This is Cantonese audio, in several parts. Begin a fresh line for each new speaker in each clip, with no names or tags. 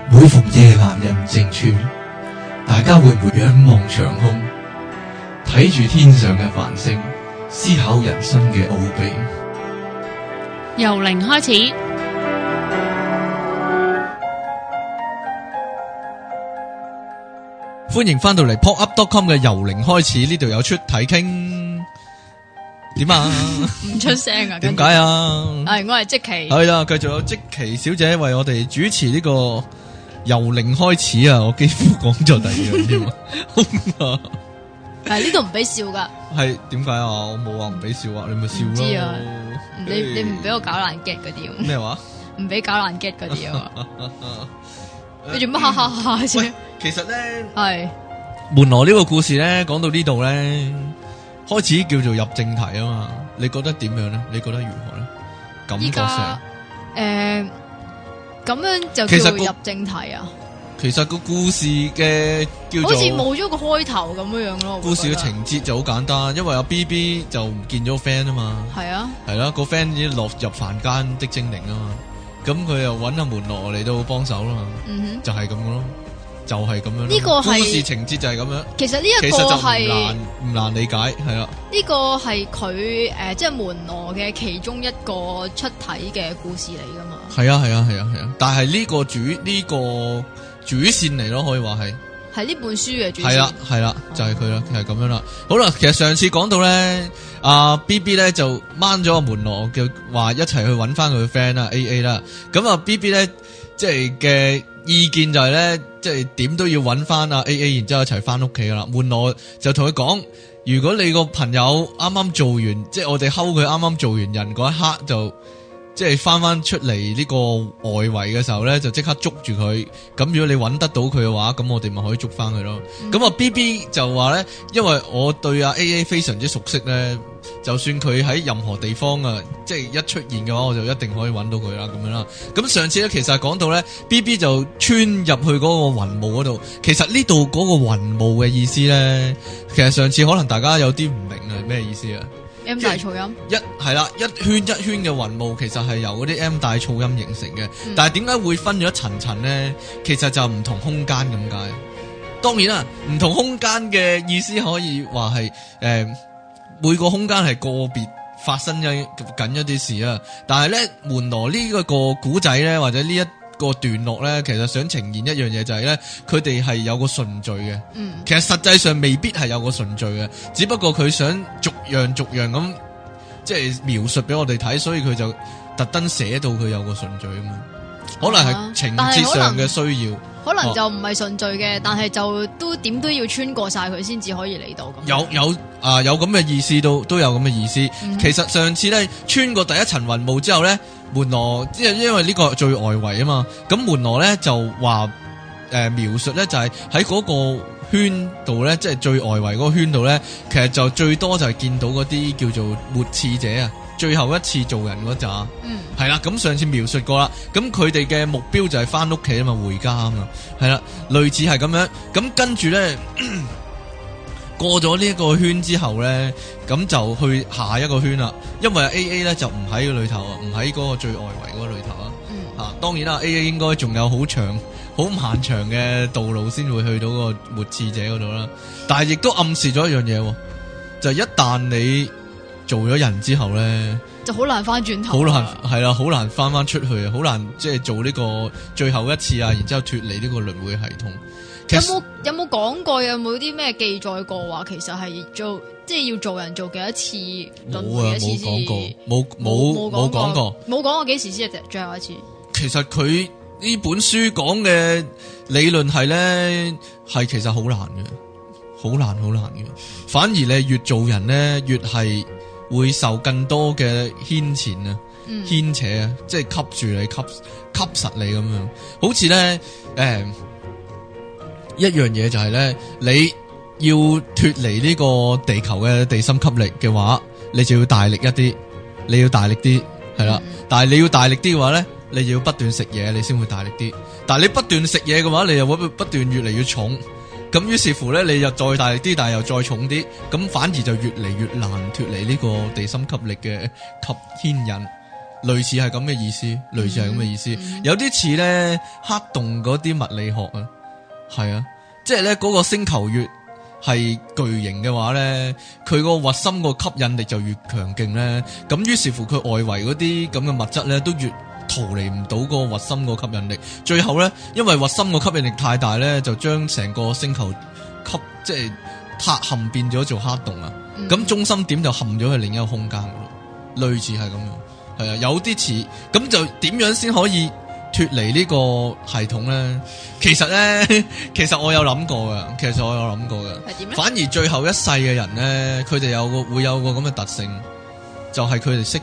每逢夜闌人靜處，大家會唔會仰望長空，睇住天上嘅繁星，思考人生嘅奧秘？
由零開始，
歡迎翻到嚟 popup.com 嘅由零開始，呢度有出體傾，點啊？
唔出聲啊？
點解啊？
係我係積淇，
係啦，繼續有積淇小姐為我哋主持呢個由零開始啊！我幾乎講咗第二樣添啊！
係呢度唔俾笑噶，
係點解啊？我冇話唔俾笑啊，你咪笑咯。
唔知啊，你唔俾我搞爛 get 嗰啲
咩話？
唔俾搞爛 get 嗰啲啊？你做乜哈哈哈啫？
其實咧
係
門羅呢個故事咧，講到呢度咧，開始叫做入正題啊嘛。你覺得點樣咧？你覺得如何咧？感覺上
咁樣就
其實
叫做入正題啊？
其實個故事嘅叫做
好似冇咗個開頭咁樣樣咯。
故事嘅情節就好簡單，因為阿 B B 就唔見咗個 friend 啊嘛。
係啊，
係啦，個 friend 已經落入凡間的精靈啊嘛。咁佢又揾阿門羅嚟到幫手啦嘛。就係咁咯，就係咁樣咯。
呢個係
故事情節就係咁樣。
其實呢一個係
唔難理解，係啦。
呢個係佢即係門羅嘅其中一個出體嘅故事嚟噶嘛。
係啊，但係呢個主線嚟咯，可以話係
呢本書嘅主線。
係啦，就係佢啦，係咁樣啦。好啦，其實上次講到咧，阿 B B 咧就掹咗個門羅，叫話一齊去揾翻佢嘅 friend 啦 A A 啦。咁啊 B B 咧即係嘅意見就係咧，即係點都要揾翻阿 A A， 然之後一齊翻屋企噶啦。門羅就同佢講，如果你個朋友啱啱做完，即係我哋睺佢啱啱做完人嗰一刻就。即係翻出嚟呢個外圍嘅時候咧，就即刻捉住佢。咁如果你揾得到佢嘅話，咁我哋咪可以捉翻佢咯。咁啊 B B 就話咧，因為我對阿 A A 非常之熟悉咧，就算佢喺任何地方啊，即係一出現嘅話，我就一定可以揾到佢啦。咁樣啦。咁上次咧，其實係講到咧 B B 就穿入去嗰個雲霧嗰度。其實呢度嗰個雲霧嘅意思咧，其實上次可能大家有啲唔明係咩意思啊？
M 大噪音
係啦，一圈一圈嘅雲霧其實係由嗰啲 M 大噪音形成嘅，但係點解會分咗一層層咧？其實就唔同空間咁解。當然啦，唔同空間嘅意思可以話係每個空間係個別發生緊一啲事啊。但係咧，門羅呢一個古仔咧，或者呢一個段落咧，其實想呈現一樣嘢就係咧，佢哋係有個順序嘅。其實實際上未必係有個順序嘅，只不過佢想逐樣咁即係描述俾我哋睇，所以佢就特登寫到佢有個順序啊嘛。可能係情節上嘅需要，
可能就唔係順序嘅，但係就都點都要穿過晒佢先至可以嚟到咁。
有咁嘅意思，都有咁嘅意思。其實上次咧穿過第一層雲霧之後咧，門羅因為呢個最外圍啊嘛，咁門羅咧就話描述咧就係喺嗰個圈度咧，即係最外圍嗰個圈度咧，其實就最多就係見到嗰啲叫做末次者啊，最後一次做人嗰扎。係啦，咁上次描述過啦，咁佢哋嘅目標就係翻屋企啊嘛，回家啊嘛，係啦，類似係咁樣。咁跟住咧過咗呢一個圈之後咧，咁就去下一個圈啦。因為 A A 咧就唔喺個裏頭啊，唔喺嗰個最外圍嗰個裏頭啊。當然啦 ，A A 應該仲有好長、好漫長嘅道路先會去到個末次者嗰度啦。但係亦都暗示咗一樣嘢，就一旦你做咗人之後咧，就好難翻轉頭，好難翻出去啊，好難即係做呢個最後一次啊，然之後脫離呢個輪迴系統。
有冇講過？有冇啲咩記載過話？其實係即係要做人做幾多次輪迴一次先？冇講過，冇講過幾時先係最後一次。
其實佢呢本書講嘅理論係咧，係其實好難嘅，好難嘅。反而你越做人咧，越係會受更多嘅牽纏啊、牽扯啊，即係吸住你、吸實你咁樣。好似咧，一樣嘢就係咧，你要脫離呢個地球嘅地心吸力嘅話，你就要大力一啲，你要大力啲，係啦。但係你要大力啲嘅話咧，你就要不斷食嘢，你先會大力啲。但係你不斷食嘢嘅話，你又會不斷越嚟越重。咁於是乎咧，你又再大力啲，但係又再重啲，咁反而就越嚟越難脫離呢個地心吸力嘅牽引。 類似係咁嘅意思，類似係咁嘅意思，有啲似咧黑洞嗰啲物理學啊，係啊，即係咧嗰個星球越係巨型嘅話咧，佢個核心個吸引力就越強勁咧，咁於是乎佢外圍嗰啲咁嘅物質咧都越逃離唔到個核心個吸引力，最後咧因為核心個吸引力太大咧，就將成個星球即係塌陷變咗做黑洞啊，咁中心點就陷咗去另一個空間咯，類似係咁樣，係啊，有啲似，咁就點樣先可以脫離呢個系統咧？其實我有諗過噶，係點咧？反而最後一世嘅人咧，佢哋會有個咁嘅特性，就係佢哋識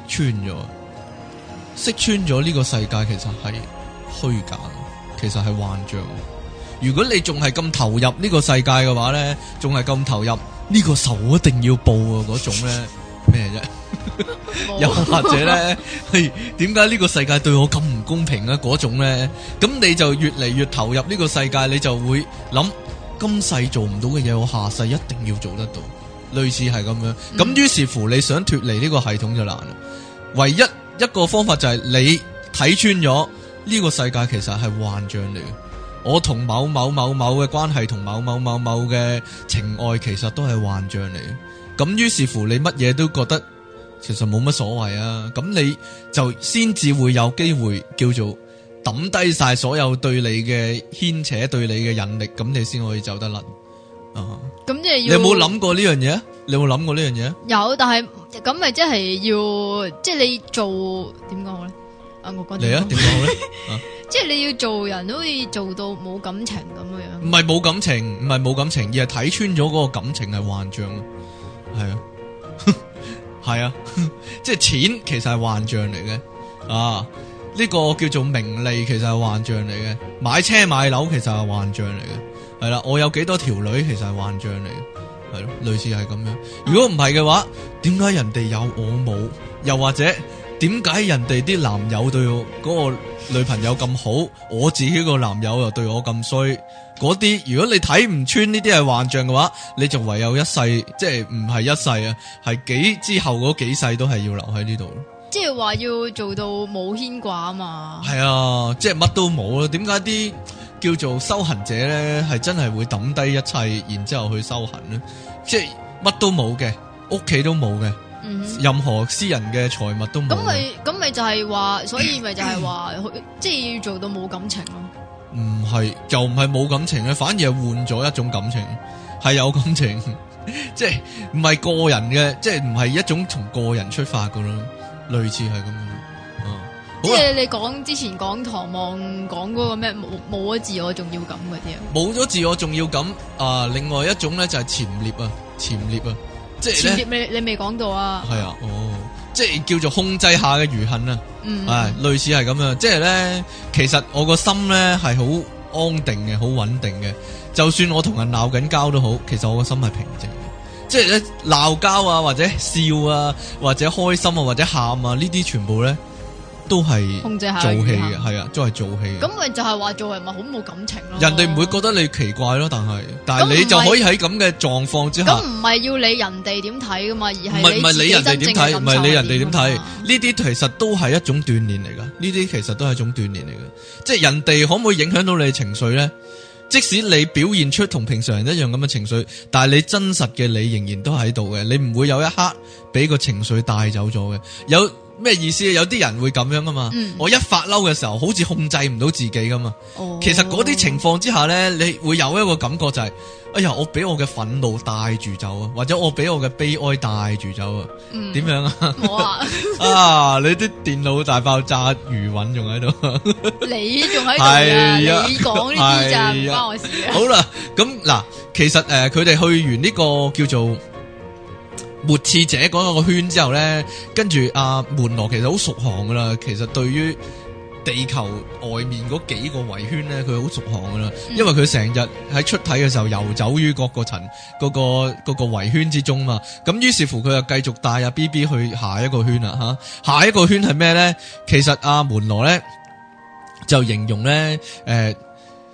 穿咗呢個世界其實係虛假，其實係幻象。如果你仲係咁投入呢個世界嘅話咧，仲係咁投入呢個仇一定要報啊嗰種咧咩啫？又或者咧，點解呢個世界對我咁唔公平啊？嗰種咧，咁你就越嚟越投入呢個世界，你就會諗今世做唔到嘅嘢，我下世一定要做得到，類似係咁樣。咁於是乎，你想脫離呢個系統就難啦。唯一一個方法就係你睇穿咗呢個世界其實係幻象嚟嘅。我同某某某某嘅關係，同某某某某嘅情愛，其實都係幻象嚟嘅。咁於是乎，你乜嘢都覺得其實冇乜所謂啊。咁你就先至會有機會叫做抌低晒所有對你嘅牽扯，對你嘅引力，咁你先可以走得甩啊。咁即係你有冇諗過呢樣嘢？你有冇諗過呢樣嘢？
有，但係咁咪即係要，即係你做點講好咧？我講
嚟啊，點講好咧？
即係你要做人都可以做到冇感情咁樣。
唔係冇感情，唔係冇感情，而係睇穿咗嗰個感情係幻象。係啊，係啊，即係錢其實係幻象嚟嘅啊！呢個叫做名利，其實係幻象嚟嘅。買車買樓其實係幻象嚟嘅。係啦，我有幾多條女其實係幻象嚟嘅。係咯，類似係咁樣。如果唔係嘅話，點解人哋有我冇？又或者點解人哋啲男友對我嗰個女朋友咁好，我自己個男友又對我咁衰？嗰啲如果你睇唔穿呢啲係幻象嘅話，你就唯有一世，即係唔係一世啊，係之後嗰幾世都係要留喺呢度。
即係話要做到冇牽掛啊嘛。係
啊，即係乜都冇咯。點解啲叫做修行者咧，係真係會抌低一切，然之後去修行咧？即係乜都冇嘅，屋企都冇嘅。任何私人嘅財物都冇。
咁咪就係話，所以咪就係話，即係要做到冇感情咯。
唔係，就唔係冇感情咧，反而係換咗一種感情，係有感情，即係唔係個人嘅，即係唔係一種從個人出發噶咯，類似係咁樣。
即係你講之前講唐望講嗰個咩冇咗自我重要感嗰啲啊？冇
咗自我重要感啊！另外一種咧就係潛獵啊，即係
潛獵你未講到啊？
係啊，即係叫做控制下嘅餘恨啊，類似係咁樣。即係咧，其實我個心咧係好安定嘅，好穩定嘅。就算我同人鬧緊交都好，其實我個心係平靜嘅。即係咧鬧交啊，或者笑啊，或者開心啊，或者喊啊，呢啲全部咧都係
控制下
做戲嘅，係啊，都係做戲嘅。
咁咪就係話做人咪好冇感情咯。
人哋唔會覺得你奇怪咯，但係你就可以喺咁嘅狀況之下。
咁唔係要理人哋點睇噶嘛，而係
唔係理人哋點睇，唔係理人哋點睇。呢啲其實都係一種鍛煉嚟噶，呢啲其實都係一種鍛煉嚟嘅。即係人哋可唔可以影響到你嘅情緒咧？即使你表現出同平常人一樣咁嘅情緒，但係你真實嘅你仍然都喺度嘅，你唔會有一刻俾個情緒帶走咗嘅。有咩意思？有啲人會咁樣噶嘛？我一發嬲嘅時候，好似控制唔到自己噶嘛。其實嗰啲情況之下咧，你會有一個感覺就係，哎呀，我俾我嘅憤怒帶住走啊，或者我俾我嘅悲哀帶住走啊。點樣啊？
冇啊！
啊，你啲電腦大爆炸餘韻仲喺度，
你仲喺度啊？你講呢啲咋，唔關我事啊。
好啦，咁嗱，其實佢哋去完呢個叫做末次者嗰個圈之後咧，跟住阿門羅其實好熟行噶啦。其實對於地球外面嗰幾個圍圈咧，佢好熟行噶啦。因為佢成日喺出體嘅時候游走於各個層嗰個圍圈之中嘛。咁於是乎佢就繼續帶阿 BB 去下一個圈啦吓。下一個圈係咩咧？其實阿門羅咧就形容咧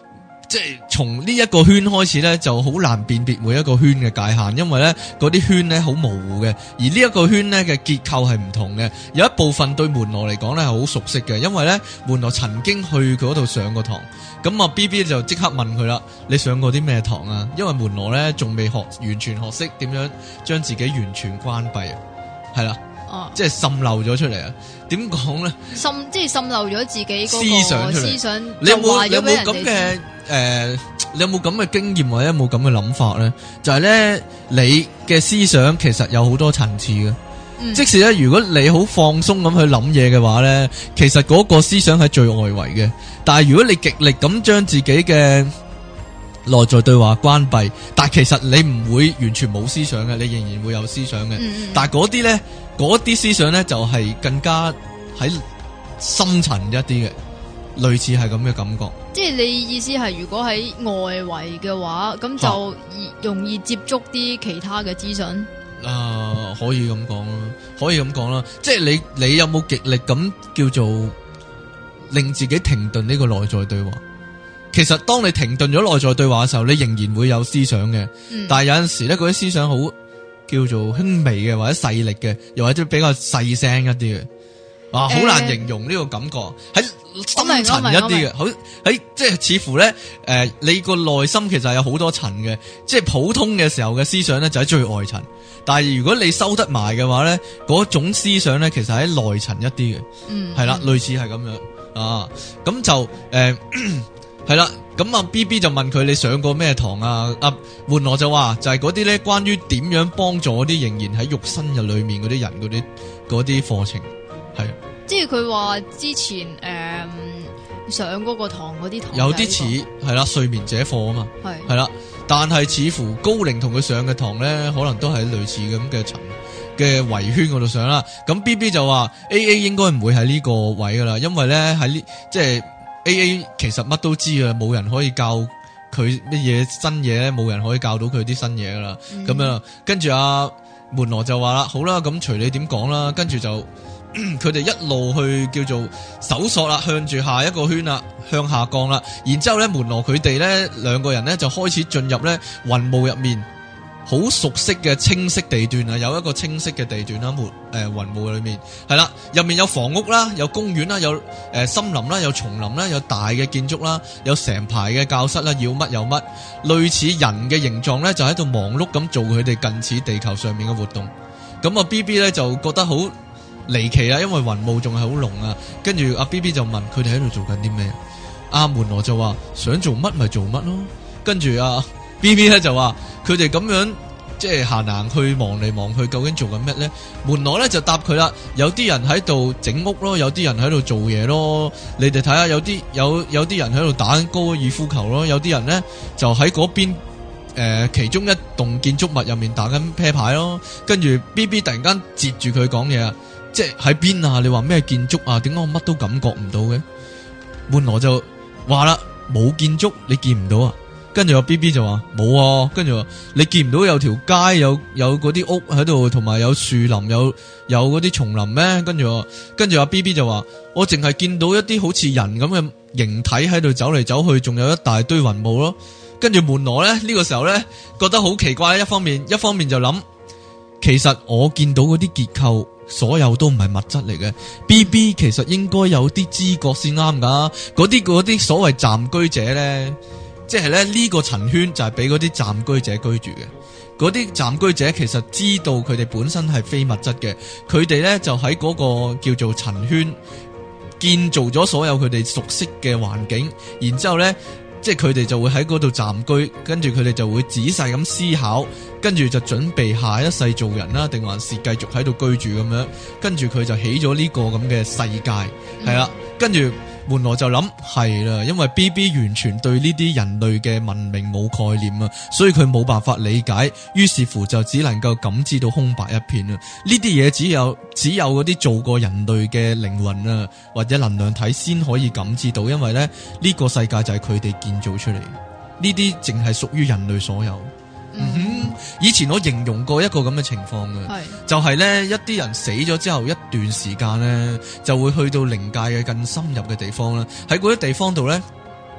即係從呢一個圈開始咧，就好難辨別每一個圈嘅界限，因為咧嗰啲圈咧好模糊嘅，而呢一個圈咧嘅結構係唔同嘅。有一部分對門羅嚟講咧係好熟悉嘅，因為咧門羅曾經去嗰度上過堂。咁啊 BB 就即刻問佢啦：你上過啲咩堂啊？因為門羅咧仲未完全學識點樣將自己完全關閉啊，係啦。即係滲漏咗出嚟啊？點講咧？
即係滲漏咗自己嗰個思想，
你有冇咁嘅你有冇咁嘅經驗或者有冇咁嘅諗法咧？就係咧，你嘅思想其實有好多層次嘅。即使咧，如果你好放鬆咁去諗嘢嘅話咧，其實嗰個思想係最外圍嘅。但係如果你極力咁將自己嘅內在對話關閉，但係其實你唔會完全冇思想嘅，你仍然會有思想嘅。但係嗰啲咧。嗰啲思想咧就係更加喺深層一啲嘅，類似係咁嘅感覺。即係
你意思係，如果喺外圍嘅話，咁就容易接觸啲其他嘅資訊。
可以咁講啦，可以咁講啦。即係你有冇極力咁叫做令自己停頓呢個內在對話？其實當你停頓咗內在對話嘅時候，你仍然會有思想嘅。但係有陣時咧，嗰啲思想好叫做輕微嘅，或者細力嘅，又或者比較細聲一啲嘅，好難形容呢個感覺，喺深層一啲嘅，好喺即係似乎咧，你個內心其實係有好多層嘅，即係普通嘅時候嘅思想咧就喺最外層，但係如果你收得埋嘅話咧，嗰種思想咧其實喺內層一啲嘅，係啦，類似係咁樣啊，咁就係啦。咁啊 BB 就問佢你上過咩堂啊？門羅就話就係嗰啲咧關於點樣幫助啲仍然喺肉身入裏面嗰啲人嗰啲課程，係
即係佢話之前上嗰個堂嗰啲堂
有啲似係啦睡眠者課啊嘛，係啦，但係似乎高齡同佢上嘅堂咧可能都係類似咁嘅層嘅圍圈嗰度上啦。咁 BB 就話 AA 應該唔會喺呢個位噶啦，因為咧喺呢即係。AA 其實乜都知啊，冇人可以教佢乜嘢新嘢咧，冇人可以教到佢啲新嘢噶啦。咁樣，跟住門羅就話啦，好啦，咁隨你點講啦。跟住就佢哋一路去叫做搜索啦，向住下一個圈啦，向下降啦。然之後咧，門羅佢哋咧兩個人咧就開始進入咧雲霧入面。好熟悉嘅清晰地段啊，有一個清晰嘅地段啦，雲霧裏面係啦，入面有房屋啦，有公園啦，有森林啦，有叢林啦，有大嘅建築啦，有成排嘅教室啦，要乜有乜，類似人嘅形狀咧，就喺度忙碌咁做佢哋近似地球上面嘅活動。咁啊 BB 咧就覺得好離奇啦，因為雲霧仲係好濃啊。跟住阿 BB 就問佢哋喺度做緊啲咩？阿門羅就話想做乜咪做乜咯。跟住BB 咧就話佢哋咁樣即係行行去望嚟望去，究竟做緊咩咧？門羅咧就答佢啦，有啲人喺度整屋咯，有啲人喺度做嘢咯。你哋睇下，有啲人喺度打高爾夫球咯，有啲人咧就喺嗰邊其中一棟建築物入面打緊啤牌咯。跟住 BB 突然間截住佢講嘢啊，即係喺邊啊？你話咩建築啊？點解我乜都感覺唔到嘅？門羅就話啦，冇建築，你見唔到啊？跟住BB 就話冇啊，跟住話你見唔到有條街有嗰啲屋喺度，同埋有樹林，有嗰啲叢林咩？跟住BB 就話我淨係見到一啲好似人咁嘅形體喺度走嚟走去，仲有一大堆雲霧咯。跟住門羅咧呢個時候咧覺得好奇怪，一方面就諗，其實我見到嗰啲結構所有都唔係物質嚟嘅。BB 其實應該有啲知覺先啱噶，嗰啲所謂暫居者咧。即係咧呢個層圈就係俾嗰啲暫居者居住嘅，嗰啲暫居者其實知道佢哋本身係非物質嘅，佢哋咧就喺嗰個叫做層圈建造咗所有佢哋熟悉嘅環境，然之後咧即係佢哋就會喺嗰度暫居，跟住佢哋就會仔細咁思考，跟住就準備下一世做人啦，定還是繼續喺度居住咁樣，跟住佢就起咗呢個咁嘅世界，係啦，跟住。門羅就諗係啦，因為 BB 完全對呢啲人類嘅文明冇概念啊，所以佢冇辦法理解，於是乎就只能夠感知到空白一片啊。呢啲嘢只有嗰啲做過人類嘅靈魂啊，或者能量體先可以感知到，因為咧呢個世界就係佢哋建造出嚟，呢啲淨係屬於人類所有。以前我形容過一個咁嘅情況嘅，就係咧一啲人死咗之後一段時間咧，就會去到靈界嘅更深入嘅地方啦。喺嗰啲地方度咧，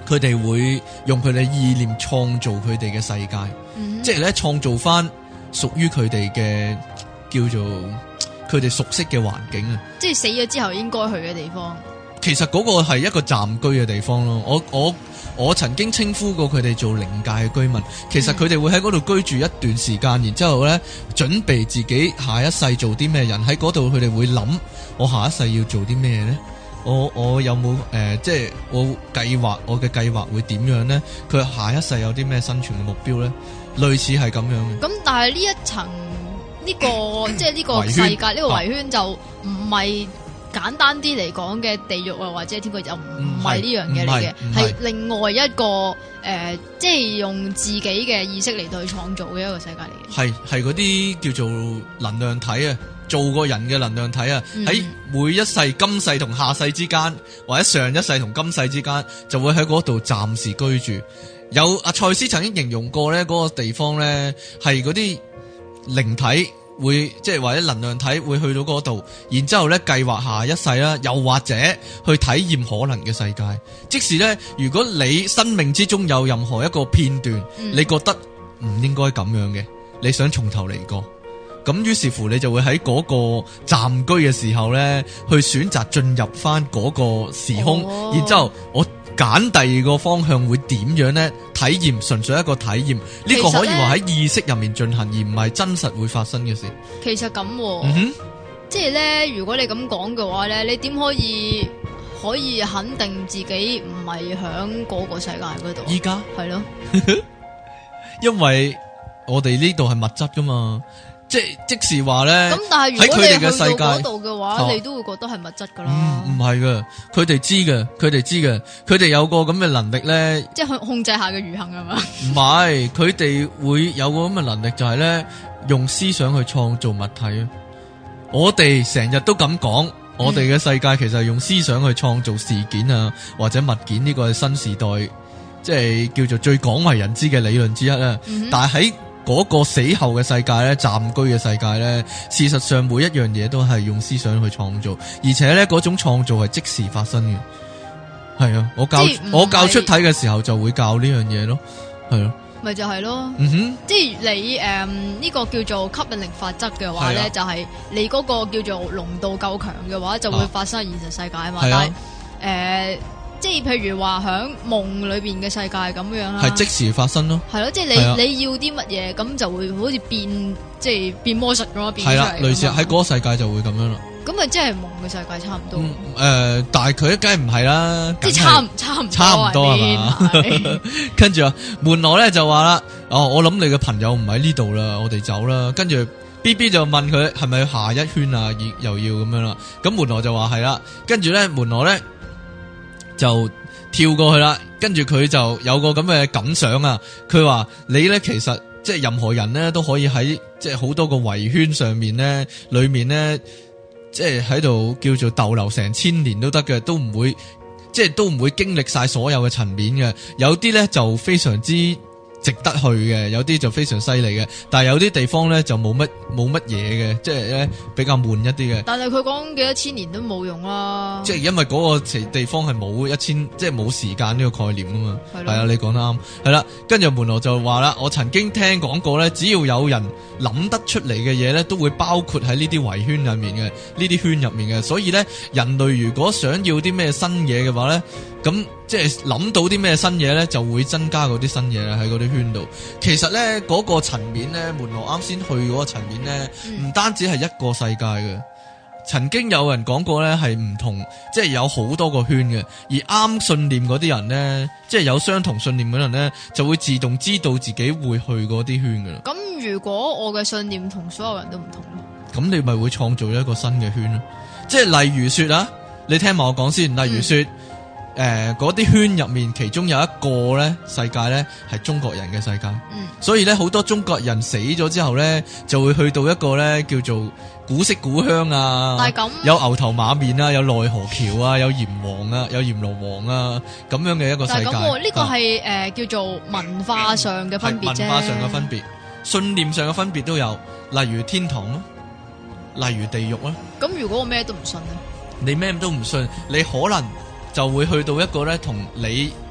佢哋會用佢哋意念創造佢哋嘅世界，即係咧創造翻屬於佢哋嘅叫做佢哋熟悉嘅環境啊！
即係死咗之後應該去嘅地方。
其實嗰個係一個暫居嘅地方咯。我曾經稱呼過佢哋做靈界嘅居民。其實佢哋會喺嗰度居住一段時間，然之後咧準備自己下一世做啲咩人。喺嗰度佢哋會諗，我下一世要做啲咩咧？我有冇即係我嘅計劃會點樣咧？佢下一世有啲咩生存嘅目標咧？類似係咁樣嘅。
咁但係呢一層呢個即係呢個世界呢個圍圈就唔係簡單啲嚟講嘅地獄啊，或者天國又唔係呢樣嘢嚟嘅，係另外一個即係用自己嘅意識嚟到去創造嘅一個世界嚟嘅。
係嗰啲叫做能量體啊，做個人嘅能量體啊，喺每一世今世同下世之間，或者上一世同今世之間，就會喺嗰度暫時居住。有阿賽斯曾經形容過咧，嗰個地方咧係嗰啲靈體會即係或者能量體會去到嗰度，然之後咧計劃下一世啦，又或者去體驗可能嘅世界。即使咧，如果你生命之中有任何一個片段，你覺得唔應該咁樣嘅，你想從頭嚟過，咁於是乎你就會喺嗰個暫居嘅時候咧，去選擇進入翻嗰個時空，然之後我揀第二個方向會點樣呢？體驗純粹一個體驗，呢個可以話喺意識入面進行，而唔係真實會發生嘅事。
其實咁，即係咧，如果你咁講嘅話咧，你點可以肯定自己唔係響嗰個世界嗰度？
依家
係咯，
因為我哋呢度係物質噶嘛。即是話咧，咁
但係如果你去到嗰度嘅話，你都會覺得係物質噶啦。
唔係噶，佢哋知嘅，佢哋有個咁嘅能力咧，
即係控制下嘅餘幸係嘛？
唔係，佢哋會有個咁嘅能力，就係咧用思想去創造物體啊。我哋成日都咁講，我哋嘅世界其實係用思想去創造事件啊，或者物件，呢個係新時代即係叫做最廣為人知嘅理論之一啦。但係喺嗰個死後嘅世界咧，暫居嘅世界咧，事實上每一樣嘢都係用思想去創造，而且咧嗰種創造係即時發生嘅。係啊，我教出體嘅時候就會教呢樣嘢咯，係咯，
咪就係咯。即係你呢個叫做吸引力法則嘅話咧，就係你嗰個叫做濃度夠強嘅話，就會發生喺現實世界啊嘛。但係即係譬如話響夢裏邊嘅世界咁樣啦，係
即時發生咯。
係咯，即係你要啲乜嘢，咁就會好似變，即係變魔術咁樣變出嚟。係啦，
類似喺嗰個世界就會咁樣啦。
咁咪即係夢嘅世界差唔多。
但係佢梗係唔係啦，
即係差唔多
係嘛。跟住啊，門羅咧就話啦，我諗你嘅朋友唔喺呢度啦，我哋走啦。跟住 BB 就問佢係咪下一圈啊，又要咁樣啦。咁門羅就話係啦。跟住咧，門羅咧就跳過去啦，跟住佢就有個咁嘅感想啊。佢話你咧其實即係任何人咧都可以喺即係好多個圍圈上面咧，裏面咧即係喺度叫做逗留成千年都得嘅，都唔會經歷晒所有嘅層面嘅。有啲咧就非常之值得去嘅，有啲就非常犀利嘅，但係有啲地方咧就冇乜嘢嘅，即係咧比較悶一啲嘅。
但係佢講幾多千年都冇用啦，
即係因為嗰個地方係冇即係冇時間呢個概念啊嘛。係啊，你講得啱。係啦，跟住門羅就話啦，我曾經聽講過咧，只要有人諗得出嚟嘅嘢咧，都會包括喺呢啲圍圈入面嘅，呢啲圈入面嘅。所以咧，人類如果想要啲咩新嘢嘅話咧，咁即係諗到啲咩新嘢咧，就會增加嗰啲新嘢喺嗰啲圈度。其實咧，嗰個層面咧，門羅啱先去嗰個層面咧，唔單止係一個世界嘅。曾經有人講過咧，係唔同，即係有好多個圈嘅。而啱信念嗰啲人咧，即係有相同信念嗰啲人咧，就會自動知道自己會去嗰啲圈噶啦。
咁如果我嘅信念同所有人都唔同咧，
咁你咪會創造一個新嘅圈咯。即係例如說啊，你聽埋我講先。例如說。嗰啲圈入面，其中有一個咧世界咧係中國人嘅世界，所以咧好多中國人死咗之後咧，就會去到一個咧叫做古色古香啊，有牛頭馬面啊，有奈何橋啊，有閻王啊，有閻羅王啊咁樣嘅一個世界。但係咁，
呢個係叫做文化上嘅分別啫，
文化上嘅分別，信念上嘅分別都有，例如天堂咯，例如地獄啦。
咁如果我咩都唔信咧？
你咩都唔信，你可能就會去到一個咧同你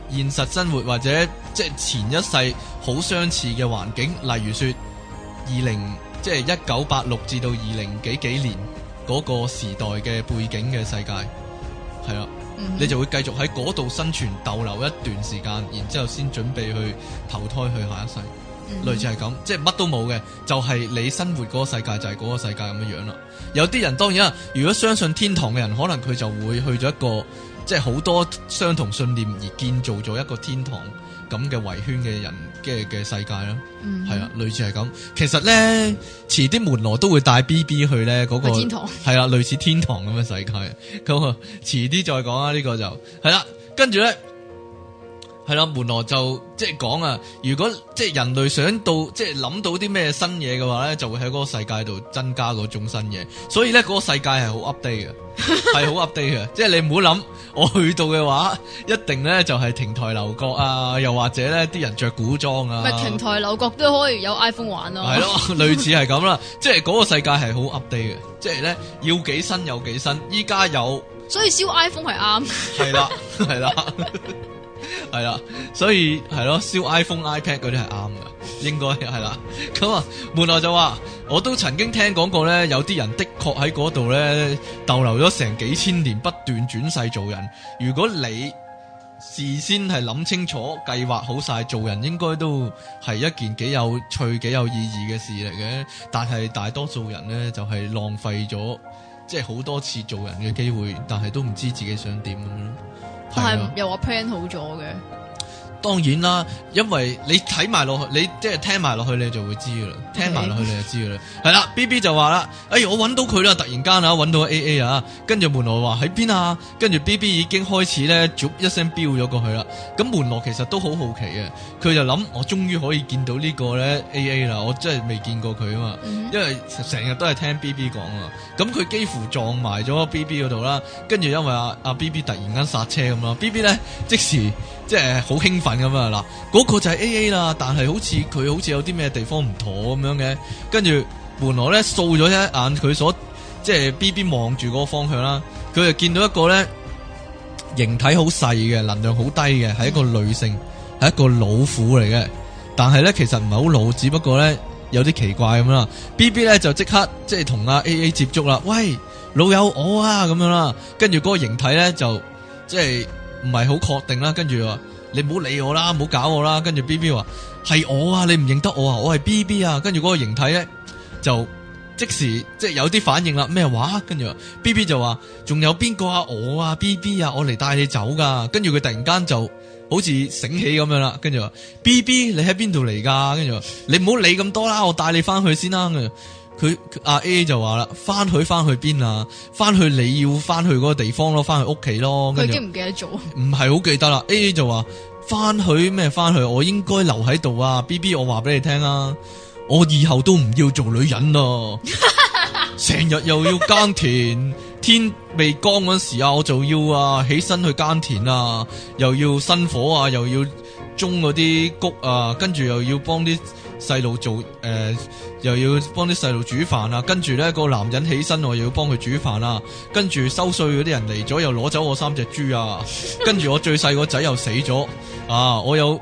現實生活或者即係前一世好相似嘅環境，例如說即係1986至到20幾年嗰個時代嘅背景嘅世界，係啦，你就會繼續喺嗰度生存逗留一段時間，然之後先準備去投胎去下一世。類似係咁，即係乜都冇嘅，就係你生活嗰個世界就係嗰個世界咁樣樣啦。有啲人當然啦，如果相信天堂嘅人，可能佢就會去咗一個即係好多相同信念而建造咗一個天堂咁嘅圍圈嘅人嘅世界啦。係啊，類似係咁。其實咧，遲啲門羅都會帶 BB 去咧嗰個
天堂，係
啦，類似天堂咁嘅世界。咁啊，遲啲再講啦，呢個就係啦。跟住咧。係啦，門羅就即係講啊，如果即係人類想到即係諗到啲咩新嘢嘅話咧，就會喺嗰個世界度增加嗰種新嘢。所以咧，嗰個世界係好 update 嘅，係好 update 嘅。即係你唔好諗，我去到嘅話，一定咧就係亭台樓閣啊，又或者咧啲人着古裝啊。
咪亭台樓閣都可以有 iPhone 玩咯。係
咯，類似係咁啦。即係嗰個世界係好 update 嘅，即係咧要幾新有幾新。依家有，
所以燒 iPhone 係啱。
係啦，係啦。係啦，所以係咯，燒 iPhone、iPad 嗰啲係啱嘅，應該係啦。咁啊，門羅就話，我都曾經聽講過咧，有啲人的確喺嗰度咧逗留咗成幾千年，不斷轉世做人。如果你事先係諗清楚、計劃好晒做人，應該都係一件幾有趣、幾有意義嘅事嚟嘅。但係大多數人咧就係浪費咗，即係好多次做人嘅機會，但係都唔知自己想點咁樣。
但係又話 plan 好咗嘅，
當然啦，因為你睇埋落去，你即係聽埋落去，你就會知噶啦。聽埋落去你就知噶啦。係啦 ，BB 就話啦，我搵到佢啦，突然間啊，搵到 AA 啊，跟住門羅話喺邊啊，跟住 BB 已經開始咧，逐一聲飆咗過去啦。咁門羅其實都好好奇嘅，佢就諗我終於可以見到呢個咧 AA 啦，我真係未見過佢啊嘛，因為成日都係聽 BB 講啊。咁佢幾乎撞埋咗 BB 嗰度啦，跟住因為阿 BB 突然間剎車咁啦 ，BB 咧即時即係好興奮咁啊！嗱，嗰個就係 AA 啦，但係佢好似有啲咩地方唔妥咁樣嘅，跟住門羅咧掃咗一眼佢所即係 BB 望住嗰個方向啦，佢就見到一個咧形體好細嘅，能量好低嘅，係一個女性，係一個老婦嚟嘅，但係咧其實唔係好老，只不過咧有啲奇怪咁啦。BB 咧就即刻即係同阿 AA 接觸啦，喂，老友我啊咁樣啦，跟住嗰個形體咧就即係唔係好確定啦，跟住話你唔好理我啦，唔好搞我啦，跟住 BB 話係我啊，你唔認得我啊，我係 BB 啊，跟住嗰個形體咧就即時即係有啲反應啦，咩話？跟住 BB 就話仲有邊個啊？我啊 BB 啊，我嚟帶你走噶，跟住佢突然間就好似醒起咁樣啦，跟住話 BB 你喺邊度嚟噶？跟住話你唔好理咁多啦，我帶你翻去先啦。佢阿 A 就話啦，翻去邊啊？翻去你要翻去嗰個地方咯，翻去屋企咯。
佢記唔記得咗？
唔係好記得啦。A 就話翻去咩？翻去我應該留喺度啊。BB 我話俾你聽啊，我以後都唔要做女人咯。成日又要耕田，天未光嗰時啊，我就要起身去耕田啊，又要生火啊，又要種嗰啲穀啊，跟住又要幫啲細路做又要幫啲細路煮飯啊，跟住咧個男人起身我又要幫佢煮飯啊，跟住收稅嗰啲人嚟咗又攞走我3隻豬啊，跟住我最細個仔又死咗啊，我有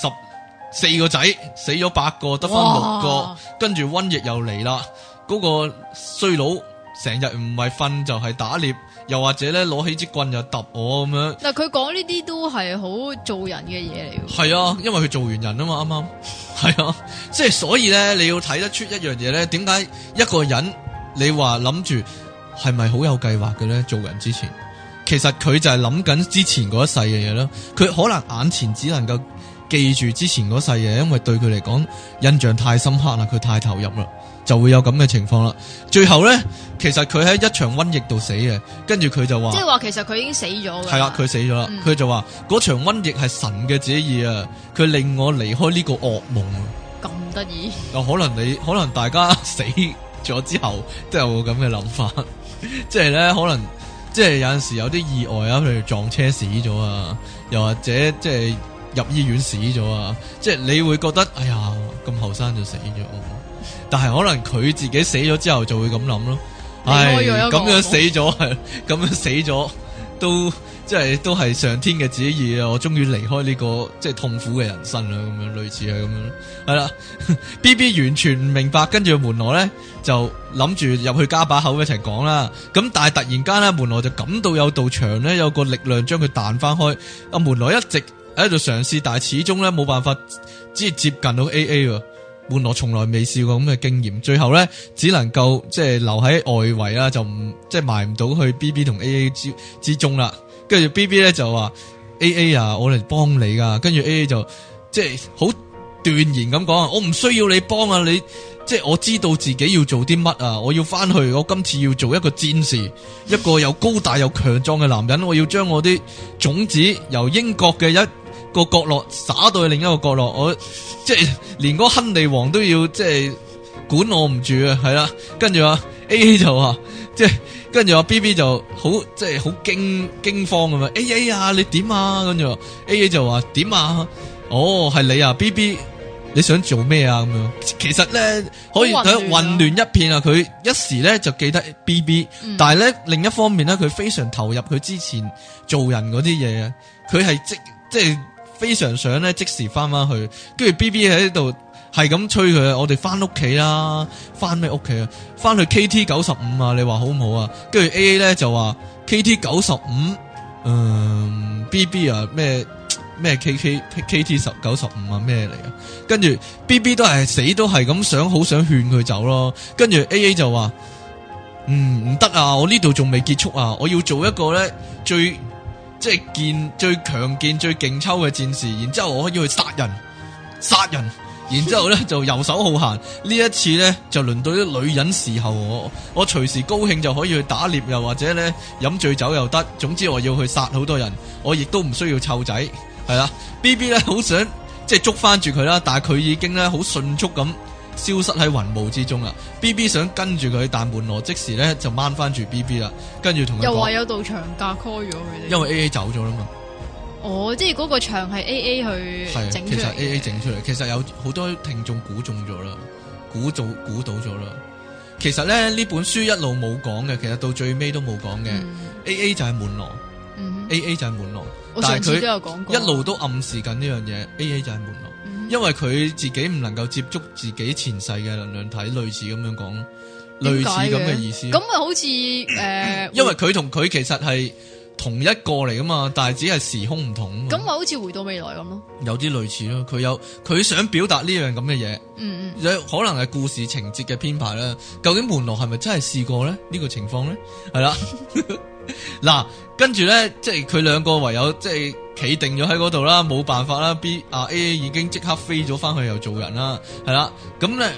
14個仔死咗8個，得翻6個，跟住瘟疫又嚟啦，嗰個衰佬成日唔係瞓就係打獵，又或者咧攞起支棍就揼我咁樣。
但佢講呢啲都係好做人嘅嘢嚟。
係啊，因為佢做完人啊嘛，啱啱係啊，即係所以咧，你要睇得出一樣嘢咧，點解一個人你話諗住係咪好有計劃嘅咧？做人之前，其實佢就係諗緊之前嗰一世嘅嘢咯。佢可能眼前只能夠記住之前嗰世嘢，因為對佢嚟講印象太深刻啦，佢太投入啦。就會有咁嘅情況啦。最後咧，其實佢喺一場瘟疫度死嘅，跟住佢就話，
即係話其實佢已經死咗嘅。係
啦，佢死咗啦。佢就話嗰場瘟疫係神嘅旨意啊，佢令我離開呢個噩夢。
咁得意？
可能大家死咗之後都有咁嘅諗法，即係咧可能即係有陣時有啲意外啊，譬如撞車死咗啊，又或者即係入醫院死咗啊，即係你會覺得哎呀咁後生就死咗。但係可能佢自己死咗之後就會咁諗咯，唉，咁樣死咗係，咁樣死咗都即係都係上天嘅旨意啊！我終於離開呢個即係痛苦嘅人生啦，咁樣類似係咁樣，係啦。B B 完全唔明白，跟住門羅咧就諗住入去加把口一齊講啦。咁但係突然間咧，門羅就感到有道牆咧有個力量將佢彈翻開。阿門羅一直喺度嘗試，但係始終咧冇辦法只係接近到 A A 喎。門羅從來未試過咁嘅經驗，最後咧只能夠即係留喺外圍啦，就唔即係埋唔到去 B B 同 A A 之中啦。跟住 B B 咧就話 A A 啊，我嚟幫你噶。跟住 A A 就即係好斷然咁講，我唔需要你幫啊，你即係我知道自己要做啲乜啊，我要翻去，我今次要做一個戰士，一個又高大又強壯嘅男人，我要將我啲種子由英國嘅一個角落灑到去另一個角落，我即係連嗰亨利王都要即係管我唔住啊，係啦。跟住啊 A A 就話即係。跟住阿 B B 就好即係好驚慌咁樣 A A 啊，你點啊？跟住 A A 就話點啊？哦，係你啊 B B， 你想做咩啊？咁樣其實咧可以混亂一片啊！佢一時咧就記得 B B，但係咧另一方面咧佢非常投入佢之前做人嗰啲嘢啊！佢係即係非常想咧即時翻去，跟住 B B 喺度。係咁催佢，我哋翻屋企啦，翻咩屋企啊？翻去 KT 95啊！你話好唔好啊？跟住 AA 咧就話 KT 95，BB 啊咩 KT 95啊咩嚟啊？跟住 BB 都係死都係咁想，好想勸佢走咯。跟住 AA 就話唔得啊！我呢度仲未結束啊！我要做一個咧最最強健最勁抽嘅戰士，然之後我可以去殺人。然之後咧就游手好閒，呢一次咧就輪到啲女人侍候我隨時高興就可以去打獵，又或者咧飲醉酒又得，總之我要去殺好多人，我亦都唔需要湊仔，係啦。B B 咧好想即係捉翻住佢啦，但係佢已經咧好迅速咁消失喺雲霧之中啦。B B 想跟住佢，但門羅即時咧就掹翻住 B B 啦，跟住同佢講，
又話有道牆架 call 咗佢哋，
因為 A A 走咗啦嘛。
哦，即係嗰個牆係 A A 去整出嚟。
其實 A A 整出嚟，其實有好多聽眾估中咗啦，估到咗啦。其實咧呢本書一路冇講嘅，其實到最尾都冇講嘅。A A 就係門羅，A A 就係門羅。
我上次都有講過，
一路都暗示緊呢樣嘢。A A 就係門羅，因為佢自己唔能夠接觸自己前世嘅能量體，類似咁樣講，類似咁嘅意思。
咁咪好似
因為佢同佢其實係同一個嚟噶嘛，但係只係時空唔同。
咁咪好似回到未來咁咯，
有啲類似咯。佢想表達呢樣咁嘅嘢，可能係故事情節嘅編排啦。究竟門羅係咪真係試過咧？呢個情況咧，係啦。嗱，跟住咧，即係佢兩個唯有即係企定咗喺嗰度啦，冇辦法啦。A 已經即刻飛咗翻去又做人啦，係啦。咁咧，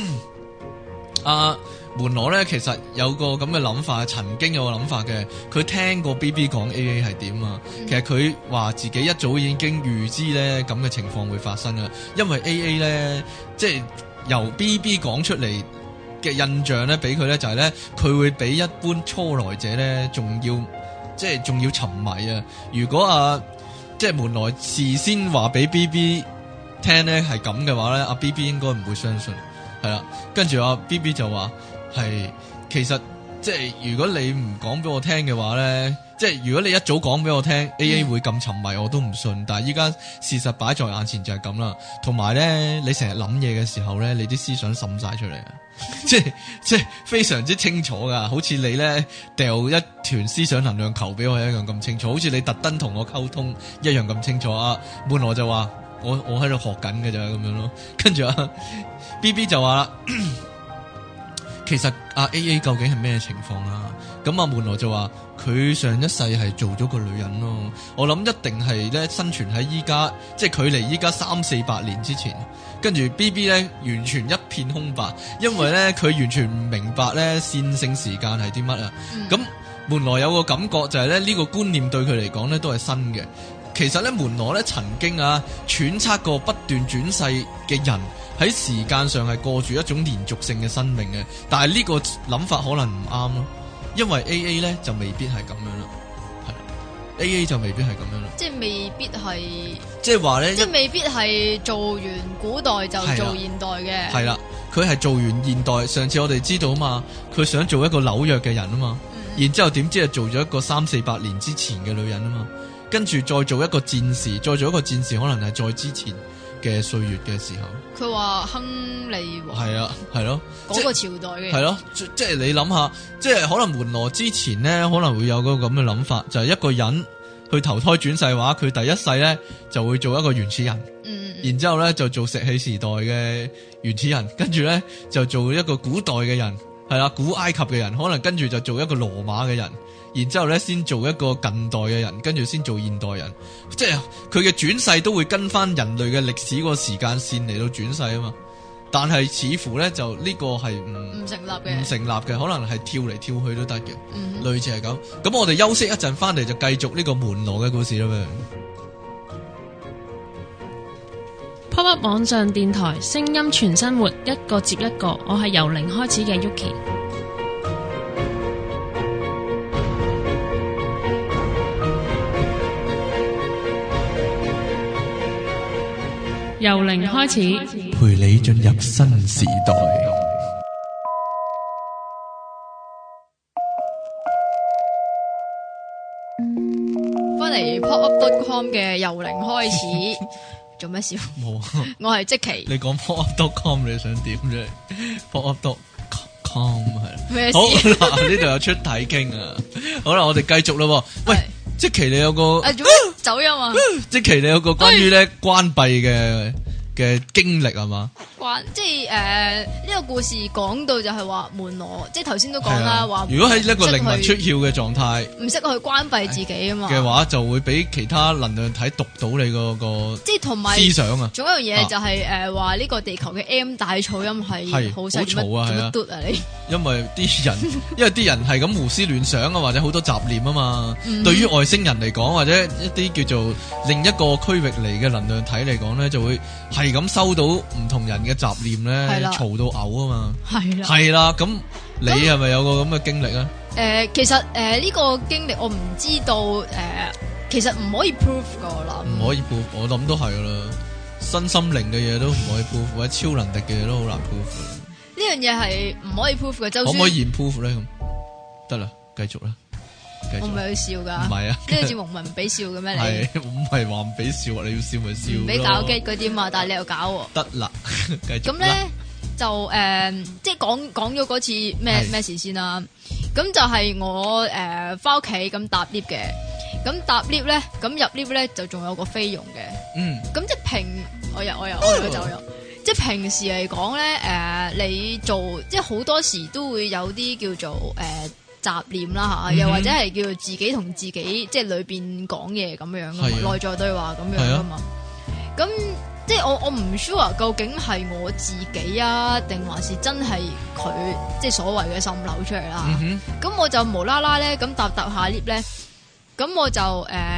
門羅咧其實有個咁嘅諗法，曾經有個諗法嘅。佢聽過 BB 講 AA 係點啊，其實佢話自己一早已經預知咧咁嘅情況會發生啊，因為 AA 咧即係由 BB 講出嚟嘅印象咧，俾佢咧就係咧佢會比一般初來者咧仲要沉迷啊。如果即係門羅事先話俾 BB 聽咧係咁嘅話咧，BB 應該唔會相信，係啦。跟住BB 就話。係，其實即係如果你唔講俾我聽嘅話咧，即係如果你一早講俾我聽，AA 會咁沉迷，我都唔信。但係依家事實擺在眼前就係咁啦。同埋咧，你成日諗嘢嘅時候咧，你啲思想滲晒出嚟啊，即係非常之清楚噶，好似你咧掉一團思想能量球俾我一樣咁清楚，好似你特登同我溝通一樣咁清楚啊。門羅就話我喺度學緊嘅咋咁樣咯，跟住BB 就話啦。其實AA 究竟係咩情況啊？咁門羅就話佢上一世係做咗個女人咯。我諗一定係咧生存喺依家，即係距離依家300-400年之前。跟住 BB 咧完全一片空白，因為咧佢完全唔明白咧線性時間係啲乜啊。咁門羅有個感覺就係咧呢個觀念對佢嚟講咧都係新嘅。其實咧門羅咧曾經揣測過不斷轉世嘅人。喺時間上係過住一種連續性嘅生命嘅，但係呢個諗法可能唔啱咯，因為 AA 咧就未必係咁樣啦，係啦 ，AA 就未必係咁樣啦，
即係未必係，
即係話咧，
即係未必係做完古代就做現代嘅，
係啦，佢係做完現代。上次我哋知道啊嘛，佢想做一個紐約嘅人啊嘛， 然之後點知係做咗一個300-400年之前嘅女人啊嘛，跟住再做一個戰士，再做一個戰士可能係再之前嘅歲月嘅時候。
佢話亨利王
係啊，係咯，
嗰個朝代嘅。
係咯，即係你諗下，即係可能門羅之前呢，可能會有個咁嘅諗法，就係一個人去投胎轉世話，佢第一世呢就會做一個原始人，然之後呢就做石器時代嘅原始人，跟住呢就做一個古代嘅人，係啦，古埃及嘅人，可能跟住就做一個羅馬嘅人，然之後呢先做一個近代嘅人，跟住先做現代人，即係佢嘅轉世都會跟翻人類嘅歷史個時間線嚟到轉世啊嘛。但係似乎呢，就呢個係唔成立嘅，可能係跳嚟跳去都得嘅，類似係咁。咁我哋休息一陣，翻嚟就繼續呢個門羅嘅故事啦咩。
Pop Up 網上電台，聲音全生活，一個接一個。我係由零開始嘅 Yuki。由零開始，
陪你進入新時代。
翻嚟 popup.com 嘅由零開始，做咩笑？
冇，
我係積淇。
你講 popup.com 你想點啫？popup.com 係
咩事？
好嗱，呢度有出體傾啊！好啦，我哋繼續咯。喂，積淇你有個
做咩走音啊？
積淇你有個關於咧關閉嘅經歷係嘛？
即係呢個故事講到就係話門羅，即係頭先都講啦，話
如果喺一個靈魂出竅嘅狀態，
唔識去關閉自己啊嘛
嘅話，就會俾其他能量體讀到你個
即係同埋
思想啊。
仲有一樣嘢就係話呢個地球嘅 M 大噪音係好
嘈啊，係啊，
嘟啊你。
因為啲人係咁胡思亂想啊，或者好多雜念啊嘛。對於外星人嚟講，或者一啲叫做另一個區域嚟嘅能量體嚟講咧，就會係咁收到唔同人嘅雜念咧，嘈到嘔啊嘛。係啦，咁你係咪有個咁嘅經歷咧？
其實呢個經歷我唔知道，其實唔可以 prove 噶啦。
唔可以 prove，我諗都係噶啦。身心靈嘅嘢都唔可以 prove，或者超能力嘅嘢都好難 prove。
呢樣嘢係唔可以 prove 嘅，就算
可唔可以 prove 咧？咁得啦，繼續啦。
我唔係去笑噶，
唔係啊，
呢個節目唔係唔俾笑嘅咩？你
係唔係話唔俾笑？你要笑咪笑咯。
唔俾搞機嗰啲嘛，但係你又搞。
得啦，繼續。
咁咧就即係講咗嗰次咩事先啦。咁就係我翻屋企咁搭 lift 嘅，咁搭 lift 咧，咁入 lift 咧就仲有個菲傭嘅。咁即係我又走咗。即係平時嚟講咧，你做即係好多時都會有啲叫做雜念啦吓，又或者係叫做自己同自己即係裏邊講嘢咁樣噶嘛，內在對話咁樣噶嘛。咁即係我唔 sure 究竟係我自己啊，定還是真係佢即係所謂嘅滲漏出嚟啦。咁我就無啦啦咧咁搭下 lift 咧，咁我就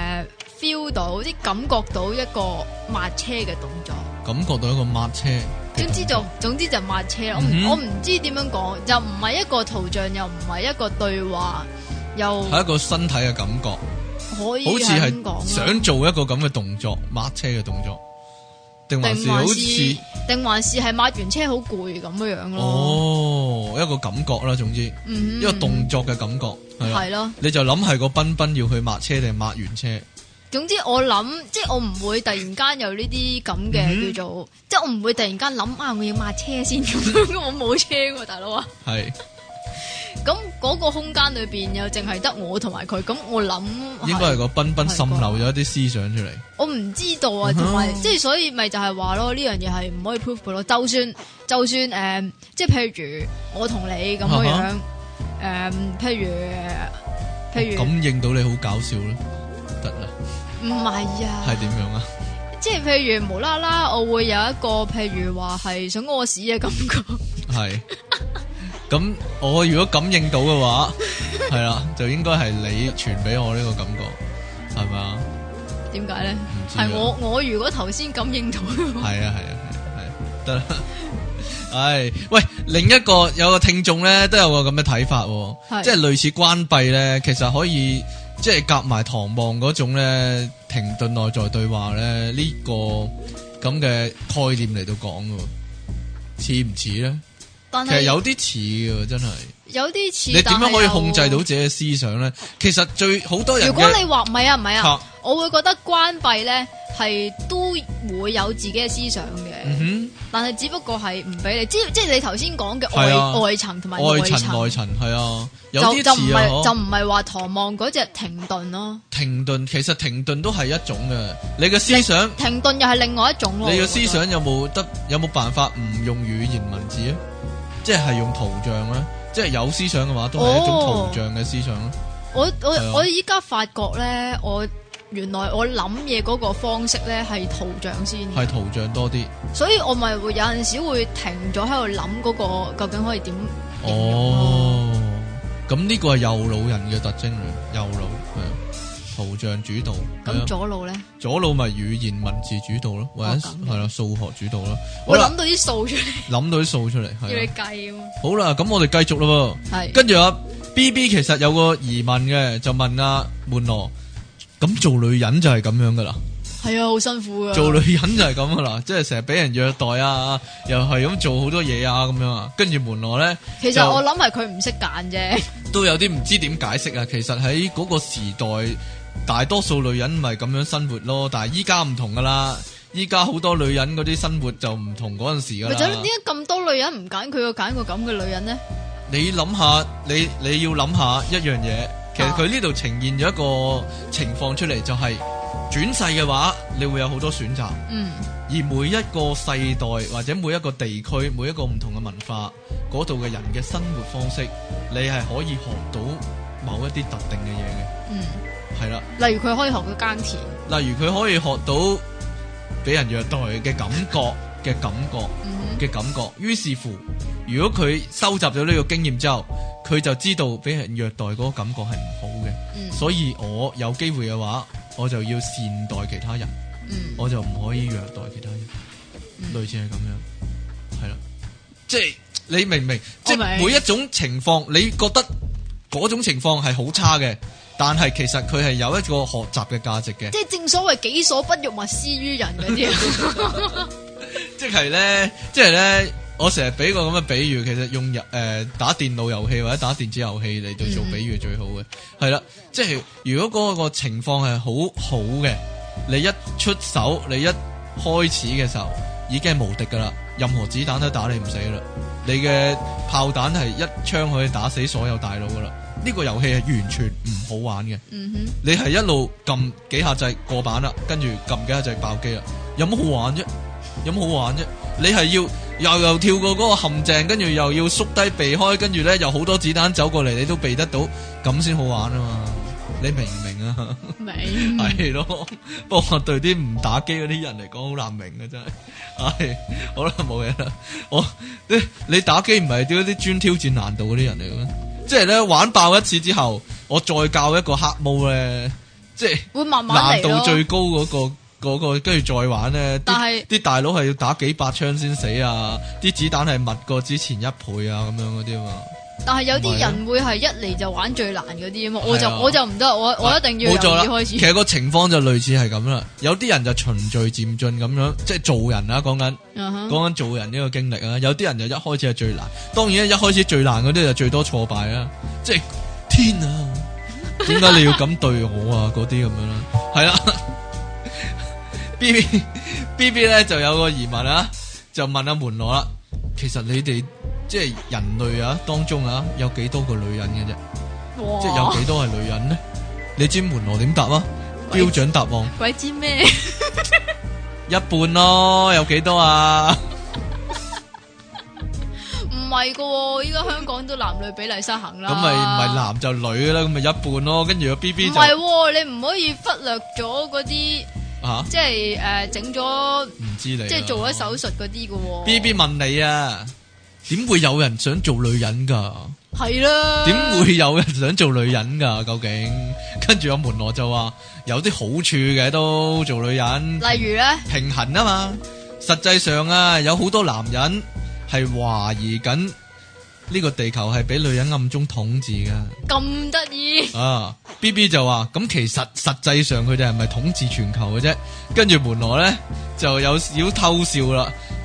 feel 到即係感覺到一個抹車嘅動作。
感覺到一個抹車，
總之就抹車。我唔知點樣講，就唔係一個圖像，又唔係一個對話，又
係一個身體嘅感覺，
可以
好似係想做一個咁嘅動作，抹車嘅動作，定還是係抹完車好攰咁樣咯。哦，一個感覺啦，總之，一個動作嘅感覺係咯。你就諗係個彬彬要去抹車定抹完車？
總之我諗，即係我唔會突然間有呢啲咁嘅叫做，即係我唔會突然間諗我要抹車先咁樣，我冇車喎，大佬啊。係。咁嗰個空間裏邊又淨係得我同埋佢，咁我諗
應該係個彬彬滲漏咗一啲思想出嚟。
我唔知道啊，同埋即係所以咪就係話咯，呢樣嘢係唔可以 prove 嘅咯。就算即係譬如我同你咁樣譬如
感應到你好搞笑咯，得啦。
唔係啊，
係點樣啊？
即係譬如無啦啦，我會有一個譬如話係想屙屎嘅感覺。係。
咁我如果感應到嘅話，係啦，就應該係你傳俾我呢個感覺，係咪啊？點解咧？係我如果頭先感應到，係啊，得啦。唉，喂，另一個有個聽眾咧，都有個咁嘅睇法，即係類似關閉咧，其實可以。即係夾埋唐望嗰種咧，停頓內在對話咧，呢個咁嘅概念嚟到講嘅，似唔似咧？
但係
其實有啲似嘅，真係
有啲似。
你點樣可以控制到自己嘅思想咧？其實好多人，
如果你話唔係啊，
吓
我會覺得關閉咧係都會有自己嘅思想嘅，但係只不過係唔俾你，即係你頭先講嘅外層同埋
外
層
內層係啊，有啲似啊，
就唔係話唐望嗰隻停頓咯。
停頓其實停頓都係一種嘅，你嘅思想
停頓又係另外一種咯。
你嘅思想有冇辦法唔用語言文字咧？即係用圖像咧？即係有思想嘅話，都係一種圖像嘅思想咯。
我依家發覺咧，原來我諗嘢嗰個方式咧係圖像先，
係圖像多啲，所
以我咪會有陣時會停咗喺度諗嗰個究竟可以點。
咁呢個係右腦人嘅特徵嚟，右腦係圖像主導。
咁左腦咧？
左腦咪語言文字主導咯，或者係啦數學主導咯。
我諗到啲數出嚟，
諗到啲數出嚟，
要你計啊嘛。
好啦，咁我哋繼續咯。係跟住阿 BB 其實有個疑問嘅，就問阿門羅。咁做女人就係咁樣噶啦，
係啊，好辛苦噶。做
女人就係咁噶啦，即係成日俾人虐待啊，又係咁做好多嘢啊，咁樣啊。跟住門羅咧，
其實我諗係佢唔識揀啫，
都有啲唔知點解釋啊。其實喺嗰個時代，大多數女人咪咁樣生活咯，但係依家唔同噶啦，依家好多女人嗰啲生活就唔同嗰陣時噶啦。
點解咁多女人唔揀佢，揀個咁嘅女人呢？
你諗下，你要諗下一樣嘢。其實佢呢度呈現咗一個情況出嚟，就係轉世嘅話，你會有好多選擇。而每一個世代或者每一個地區，每一個唔同嘅文化，嗰度嘅人嘅生活方式，你係可以學到某一啲特定嘅嘢嘅。係啦，
例如佢可以學到耕田，
例如佢可以學到俾人虐待嘅感覺嘅感覺。於是乎，如果佢收集咗呢個經驗之後，佢就知道俾人虐待嗰個感覺係唔好嘅。所以我有機會嘅話，我就要善待其他人。我就唔可以虐待其他人。類似係咁樣，係啦，即係你明唔明？即係每一種情況，你覺得嗰種情況係好差嘅，但係其實佢係有一個學習嘅價值嘅。
即係正所謂己所不欲，勿施於人嗰啲。
即係咧，我成日俾個咁嘅比喻，其實用打電腦遊戲或者打電子遊戲嚟到做比喻最好嘅，係啦。即係如果嗰個情況係好嘅，你一出手，你一開始嘅時候已經係無敵噶啦，任何子彈都打你唔死啦。你嘅炮彈係一槍可以打死所有大佬噶啦。呢個遊戲係完全唔好玩嘅。你係一路撳幾下掣過版啦，跟住撳幾下掣爆機啦，有乜好玩啫？你係要又跳過嗰個陷阱，跟住又要縮低避開，跟住咧又好多子彈走過嚟，你都避得到，咁先好玩啊嘛！你明唔明啊？
明
係咯，不過對啲唔打機嗰啲人嚟講好難明啊，真係。唉，好啦，冇嘢啦。你打機唔係啲專挑戰難度嗰啲人嚟嘅咩？即係咧玩爆一次之後，我再教一個黑毛咧，即係
會慢慢嚟咯。
難度最高嗰個跟住再玩咧，但係啲大佬係要打幾百槍先死啊！啲子彈係密過之前1倍啊，咁樣嗰啲嘛。但係
有啲人會係一嚟就玩最難嗰啲啊嘛，我就唔得，我一定要由2開始。
其實個情況就類似係咁啦，有啲人就循序漸進咁樣，即係做人啊，講緊做人呢個經歷啊。有啲人就一開始係最難，當然一開始最難嗰啲就最多挫敗啊，即係天啊，點解你要咁對我啊？嗰啲咁樣啦，係啦。B B 咧就有個疑問啊，就問阿門羅啦。其實你哋即係人類啊當中啊，有幾多個女人嘅啫？即係有幾多係女人呢？你知門羅點答啊？標準答案
鬼知咩？
一半咯，有幾多啊？
唔係噶，依家香港都男女比例失衡啦。
咁咪唔係男就女啦，咁咪一半咯。跟住個 B B 就唔
係，你唔可以忽略咗嗰啲。即係整咗唔知你，即係做咗手術嗰啲嘅。
B B 問你啊，點會有人想做女人噶？
係啦，
點會有人想做女人噶？究竟？跟住阿門羅就話有啲好處嘅，都做女人。
例如咧，
平衡啊嘛。實際上啊，有好多男人係懷疑緊呢個地球係俾女人暗中統治噶。
咁得意
啊 ！B B 就話咁，其實實際上佢哋係咪統治全球嘅啫？跟住門羅咧就有少偷笑啦。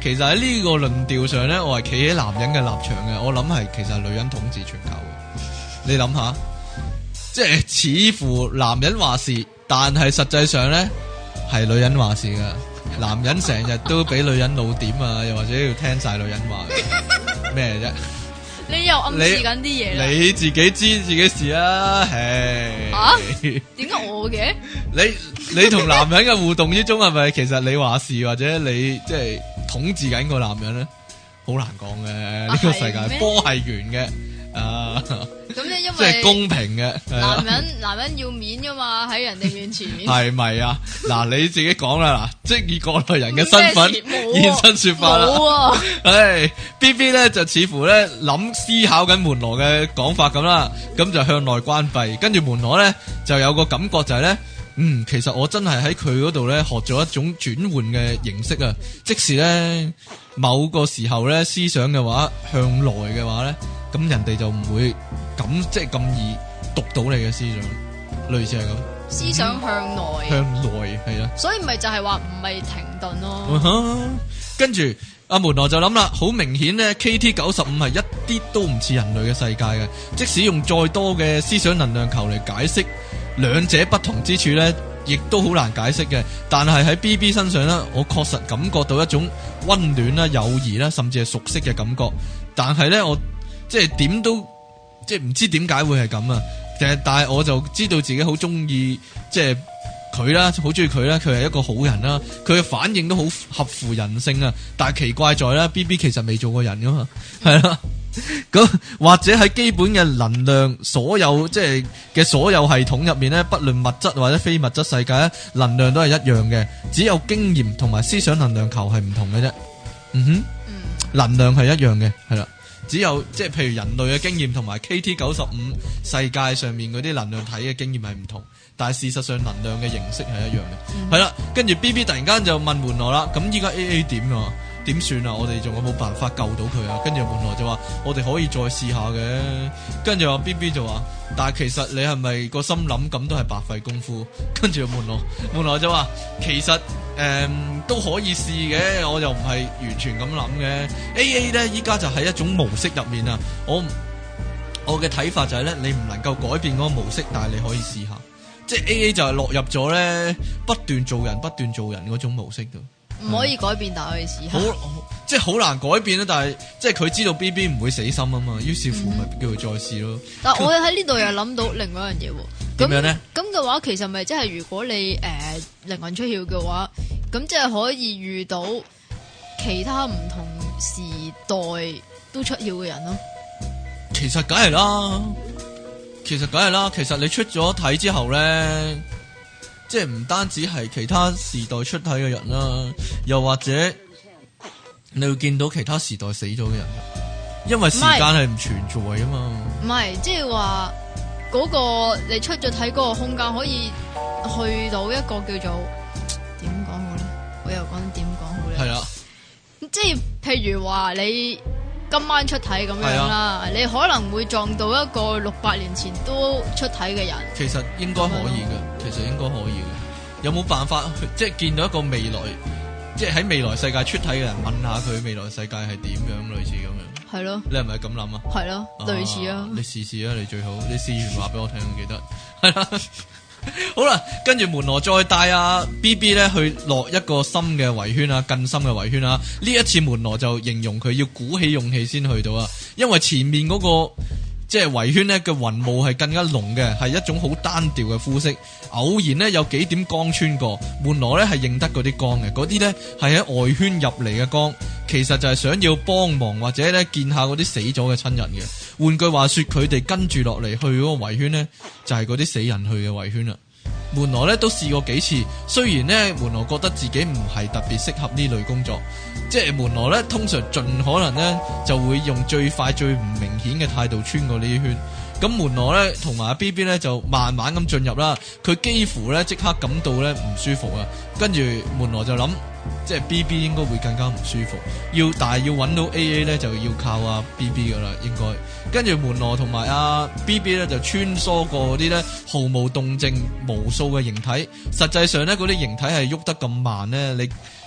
其實喺呢個論調上咧，我係企喺男人嘅立場嘅。我諗係其實係女人統治全球嘅。你諗下，即係似乎男人話事，但係實際上咧係女人話事噶。男人成日都俾女人老點啊，又或者要聽晒女人話嘅咩啫？
你又暗示緊啲嘢啦？
你自己知自己事啊？唉，
點解我嘅？
你同男人嘅互動之中係咪其實你話事，或者你即係統治緊個男人咧？好難講嘅，呢個世界波係圓嘅啊！
咁咧，因為
即係公平嘅。
男人要面噶嘛，喺人哋面前。
係咪啊？嗱，你自己講啦，嗱，即係以過來人嘅身份現身說法啦。
冇啊！
唉，B B 咧就似乎咧思考緊門羅嘅講法咁啦，咁就向內關閉，跟住門羅咧就有個感覺就係咧，其實我真係喺佢嗰度咧學咗一種轉換嘅形式啊，即使咧某個時候咧思想嘅話向內嘅話咧，咁人哋就唔會即係咁易讀到你嘅思想，類似係咁。
思想向內，
向內係啦，
所以咪就係話唔係停頓咯。
跟住阿門羅就諗啦，好明顯咧 KT-95係一啲都唔似人類嘅世界嘅，即使用再多嘅思想能量球嚟解釋兩者不同之處咧，亦都好難解釋嘅。但係喺 BB 身上咧，我確實感覺到一種溫暖啦、友誼啦，甚至係熟悉嘅感覺。但係咧，我即係點都即係唔知點解會係咁啊！但係我就知道自己好中意即係佢啦，好中意佢啦，佢係一個好人啦，佢嘅反應都好合乎人性啊！但係奇怪在咧 ，BB 其實未做過人噶嘛，係啦。咁或者喺基本嘅能量所有即係嘅所有系統入面咧，不論物質或者非物質世界咧，能量都係一樣嘅，只有經驗同埋思想能量球係唔同嘅啫。能量係一樣嘅，係啦。只有即係譬如人類嘅經驗同埋 KT-95世界上面嗰啲能量體嘅經驗係唔同，但係事實上能量嘅形式係一樣嘅。係啦，跟住 BB 突然間就問門羅啦，咁依家 AA 點啊？點算啊？我哋仲有冇辦法救到佢啊？跟住門羅就話我哋可以再試下嘅。跟住話 BB 就話，但係其實你係咪個心諗咁都係白費功夫？跟住門羅就話其實都可以試嘅，我又唔係完全咁諗嘅。AA 咧依家就喺一種模式入面啊，我嘅睇法就係咧，你唔能夠改變嗰個模式，但係你可以試下，即係 AA 就係落入咗咧不斷做人嗰種模式度。唔
可以改變，但係可以試下。
即係好難改變啦，但係即係佢知道 BB 唔會死心啊嘛，於是乎咪叫佢再試咯。
但係我喺呢度又諗到另外一樣嘢喎。
點樣咧？咁
嘅話，其實咪即係如果你靈魂出竅嘅話，咁即係可以遇到其他唔同時代都出竅嘅人咯。
其實梗係啦，其實你出咗體之後咧。即係唔單止係其他時代出體嘅人啦，又或者你會見到其他時代死咗嘅人，因為時間係唔存在啊嘛。
唔係，即係話嗰個你出咗體嗰個空間可以去到一個叫做點講好咧？我又講點講好咧？係啦，即係譬如話你今晚出體咁樣啦，你可能會撞到一個600年前都出體嘅人。其實應該可以嘅，有冇辦法即係見到一個未來，即係喺未來世界出體嘅人，問下佢未來世界係點樣，類似咁樣。係咯，你係咪咁諗啊？係咯，類似啊。你試啊，你最好，你試完話俾我聽，我記得。係啦，好啦，跟住門羅再帶阿 BB 咧去落一個深嘅圍圈啊，更深嘅圍圈啊。呢一次門羅就形容佢要鼓起勇氣先去到啊，因為前面嗰個即係圍圈咧嘅雲霧係更加濃嘅，係一種好單調嘅膚色。偶然咧有幾點光穿過，門羅咧係認得嗰啲光嘅，嗰啲咧係喺外圈入嚟嘅光，其實就係想要幫忙或者咧見下嗰啲死咗嘅親人嘅。換句話說，佢哋跟住落嚟去嗰個圍圈咧，就係嗰啲死人去嘅圍圈啦。門羅咧都試過幾次，雖然咧門羅覺得自己唔係特別適合呢類工作，即係門羅咧通常盡可能咧就會用最快最唔明顯嘅態度穿過呢啲圈。咁門羅咧同埋阿 BB 咧就慢慢咁進入啦，佢幾乎咧即刻感到咧唔舒服啊。跟住門羅就諗，即係 BB 應該會更加唔舒服，但係要揾到 AA 咧就要靠阿 BB 噶啦，應該。跟住門羅同埋阿 BB 咧就穿梭過嗰啲咧毫無動靜無數嘅形體，實際上咧嗰啲形體係喐得咁慢咧，你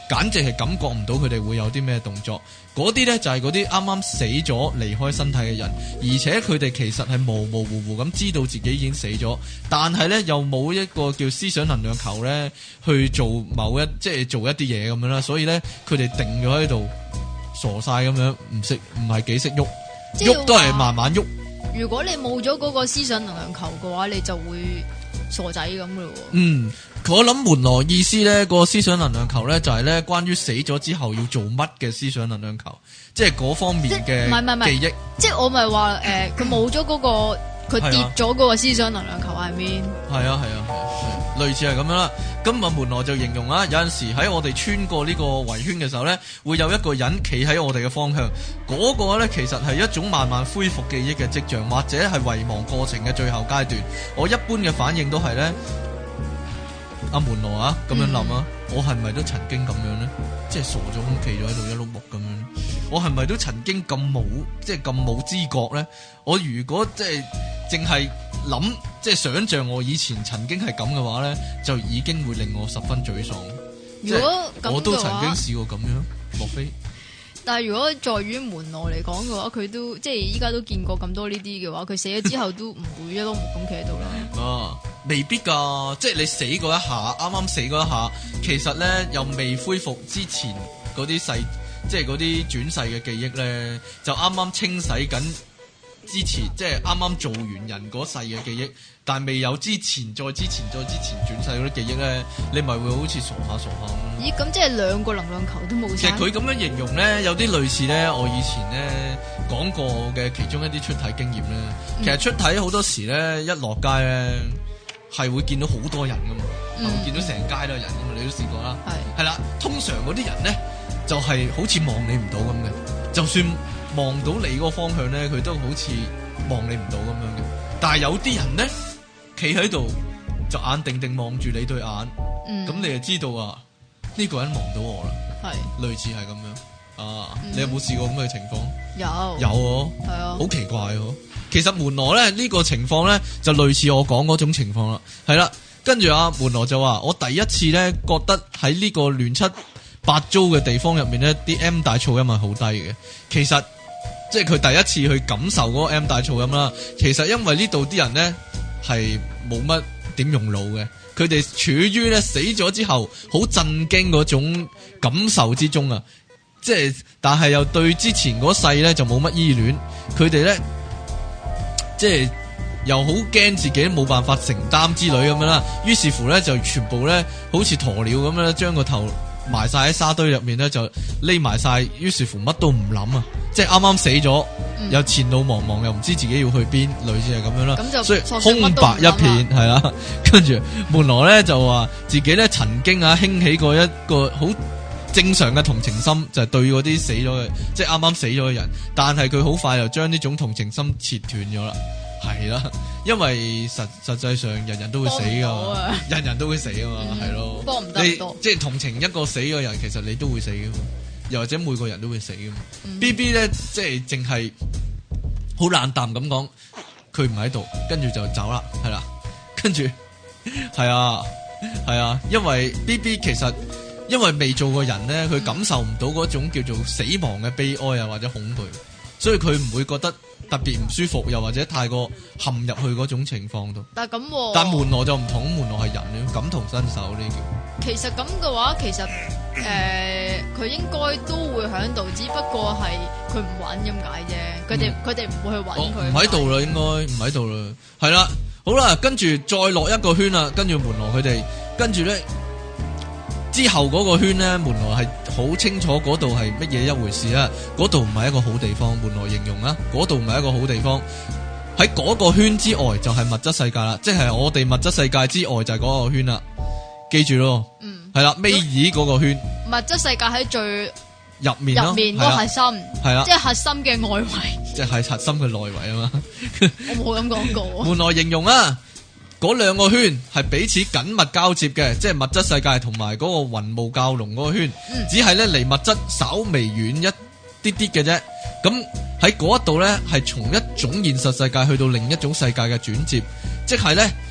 簡直係感覺唔到佢哋會有啲咩動作。嗰啲呢，就係嗰啲啱啱死咗離開身體嘅人，而且佢哋其實係模模糊糊咁知道自己已經死咗，但係呢，又冇一個叫思想能量球呢去做即係做一啲嘢咁樣啦，所以呢，佢哋定咗喺度傻晒咁樣，唔係幾識喐，喐都係慢慢喐。
如果你冇咗嗰個思想能量球嘅話，你就會傻仔咁噶咯。
我諗門羅意思呢個思想能量球呢，就係呢關於死咗之後要做乜嘅思想能量球，即係嗰方面嘅記憶。
即係我咪話佢冇咗嗰個，佢跌咗嗰個思想能量球喺面。係
啊，類似係咁樣啦。今日門羅就形容啊，有陣時喺我哋穿過呢個圍圈嘅時候呢，會有一個人企喺我哋嘅方向，嗰個呢，其實係一種慢慢恢復記憶嘅跡象，或者係遺忘過程嘅最後階段。我一般嘅反應都係呢。阿門羅啊，咁樣諗啊，我係咪都曾經咁樣呢？即係傻咗咁企咗喺度一碌木咁樣，我係咪都曾經咁冇知覺呢？我如果即係淨係諗，即係想象我以前曾經係咁嘅話呢，就已經會令我十分沮喪。
如果
我都曾經試過咁樣，莫非？
但係如果在於門羅嚟講嘅話，佢都即係依家都見過咁多呢啲嘅話，佢死咗之後都唔會一碌木咁企喺度啦。
未必噶，即係你死嗰一下，啱啱死嗰一下，其實咧又未恢復之前嗰啲世，即係嗰啲轉世嘅記憶咧，就啱啱清洗緊之前，即係啱啱做完人嗰世嘅記憶，但係未有之前再之前轉世嗰啲記憶咧，你咪會好似傻下咁。
咦？咁即係兩個能量球都冇晒。
其實佢咁樣形容咧，有啲類似咧，我以前咧講過嘅其中一啲出體經驗咧。其實出體好多時咧，一落街咧。係會見到好多人噶嘛，會見到成街都係人噶嘛，你都試過啦。係啦，通常嗰啲人咧就係好似望你唔到咁嘅，就算望到你個方向咧，佢都好似望你唔到咁樣嘅。但係有啲人咧企喺度就眼定定望住你對眼，咁你就知道啊呢個人望到我啦。係類似係咁樣啊，你有冇試過咁嘅情況？有係啊，好奇怪喎。其實門羅咧呢個情況咧就類似我講嗰種情況啦，係啦，跟住阿門羅就話我第一次咧覺得喺呢個亂七八糟嘅地方入面咧，啲 M 大噪音係好低嘅。其實即係佢第一次去感受嗰個 M 大噪音啦。其實因為呢度啲人咧係冇乜點用腦嘅，佢哋處於咧死咗之後好震驚嗰種感受之中啊，即係但係又對之前嗰世咧就冇乜依戀，佢哋咧。即係又好驚自己冇辦法承擔之類咁樣啦，於是乎咧就全部咧好似鴕鳥咁樣將個頭埋晒喺沙堆入面咧就匿埋晒，於是乎乜都唔諗啊！即係啱啱死咗，又前路茫茫，又唔知自己要去邊，類似係咁樣啦。所以空白一片係啦。跟住門羅咧就話自己咧曾經興起過一個好正常嘅同情心，就係對嗰啲死咗嘅，即係啱啱死咗嘅人，但係佢好快就將呢種同情心切斷咗啦，係啦，因為實際上人人都會死噶嘛，人人都會死噶嘛，係咯，幫唔得多，即係同情一個死嘅人，其實你都會死噶嘛，又或者每個人都會死噶嘛。BB 咧即係淨係好冷淡咁講，佢唔喺度，跟住就走啦，係啦，跟住係啊，因為 BB 其實。因為未做過人咧，佢感受唔到嗰種叫做死亡嘅悲哀啊，或者恐懼，所以佢唔會覺得特別唔舒服，又或者太過陷入去嗰種情況度。但係咁，但門羅就唔同，門羅係人咧，感同身受呢叫。其實咁嘅話，其實佢應該都會喺度，只不過係佢唔揾咁解啫。佢哋唔會去揾佢。唔喺度啦，應該唔喺度啦。係啦，好啦，跟住再落一個圈啦，跟住門羅佢哋，跟住咧。之後嗰個圈呢，門羅係好清楚嗰度係乜嘢一回事啊！嗰度唔係一個好地方，門羅形容啊，嗰度唔係一個好地方。喺嗰個圈之外就係物質世界啦，即係我哋物質世界之外就係嗰個圈啦。記住咯，係啦，尾二嗰個圈。物質世界喺最入面嗰個核心，係啦，即係核心嘅外圍，即係核心嘅內圍啊嘛。我冇咁講過。門羅形容啊。嗰兩個圈係彼此緊密交接嘅，即係物質世界同埋嗰個雲霧教龍嗰個圈，只係咧離物質稍微遠一啲啲嘅啫。咁喺嗰一度咧，係從一種現實世界去到另一種世界嘅轉接，即係咧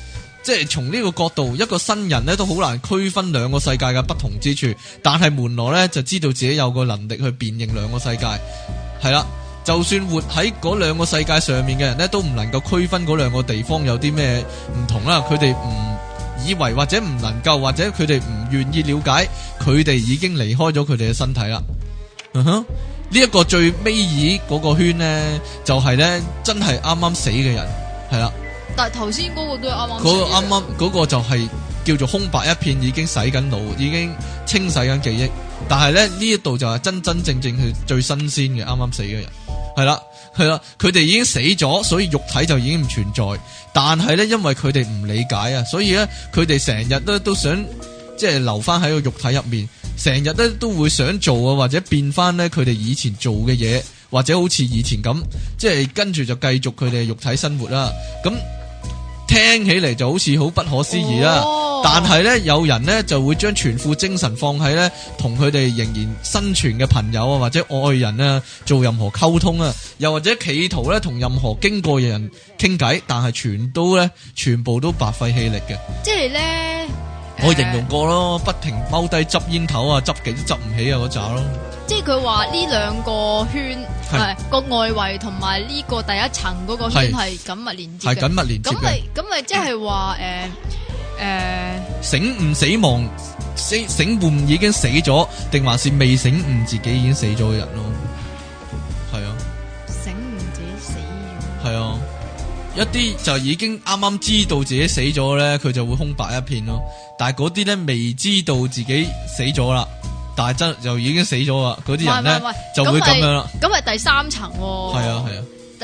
即係從呢個角度，一個新人咧都好難區分兩個世界嘅不同之處，但係門羅咧就知道自己有個能力去辨認兩個世界，係啦。就算活喺嗰兩個世界上面嘅人咧，都唔能夠區分嗰兩個地方有啲咩唔同啦。佢哋唔以為或者唔能夠，或者佢哋唔願意了解，佢哋已經離開咗佢哋嘅身體啦。呢一個最尾二嗰個圈呢，就係呢真係啱啱死嘅人，係啦。
但係頭先嗰個都係啱啱。
嗰個啱啱嗰個就係叫做空白一片，已經洗緊腦，已經清洗緊記憶。但係咧呢一度就係真真正正係最新鮮嘅啱啱死嘅人，係啦，佢哋已經死咗，所以肉體就已經唔存在。但係咧因為佢哋唔理解啊，所以咧佢哋成日都想即係留翻喺個肉體入面，成日都會想做啊，或者變翻咧佢哋以前做嘅嘢，或者好似以前咁，即係跟住就繼續佢哋肉體生活啦。咁聽起嚟就好似好不可思議啦。但係咧有人咧就會將全副精神放喺咧同佢哋仍然生存嘅朋友啊或者愛人啊做任何溝通啊，又或者企圖咧同任何經過嘅人傾偈，但係全部都白費氣力嘅。
即係咧，
我形容過咯，不停踎低執煙頭啊，執極都執唔起啊嗰扎咯。
即係佢話呢兩個圈個外圍同埋呢個第一層嗰個圈係緊密連接嘅，
係緊密連接嘅。
咁咪即係話
醒悟死亡，醒悟已經死咗，定還是未醒悟自己已經死咗嘅人咯？係啊，
醒悟自己死咗。
係啊，一啲就已經啱啱知道自己死咗咧，佢就會空白一片咯。但係嗰啲咧未知道自己死咗啦，但係真就已經死咗啦，嗰啲人咧就會咁樣啦。
咁係第三層喎。係
啊係啊。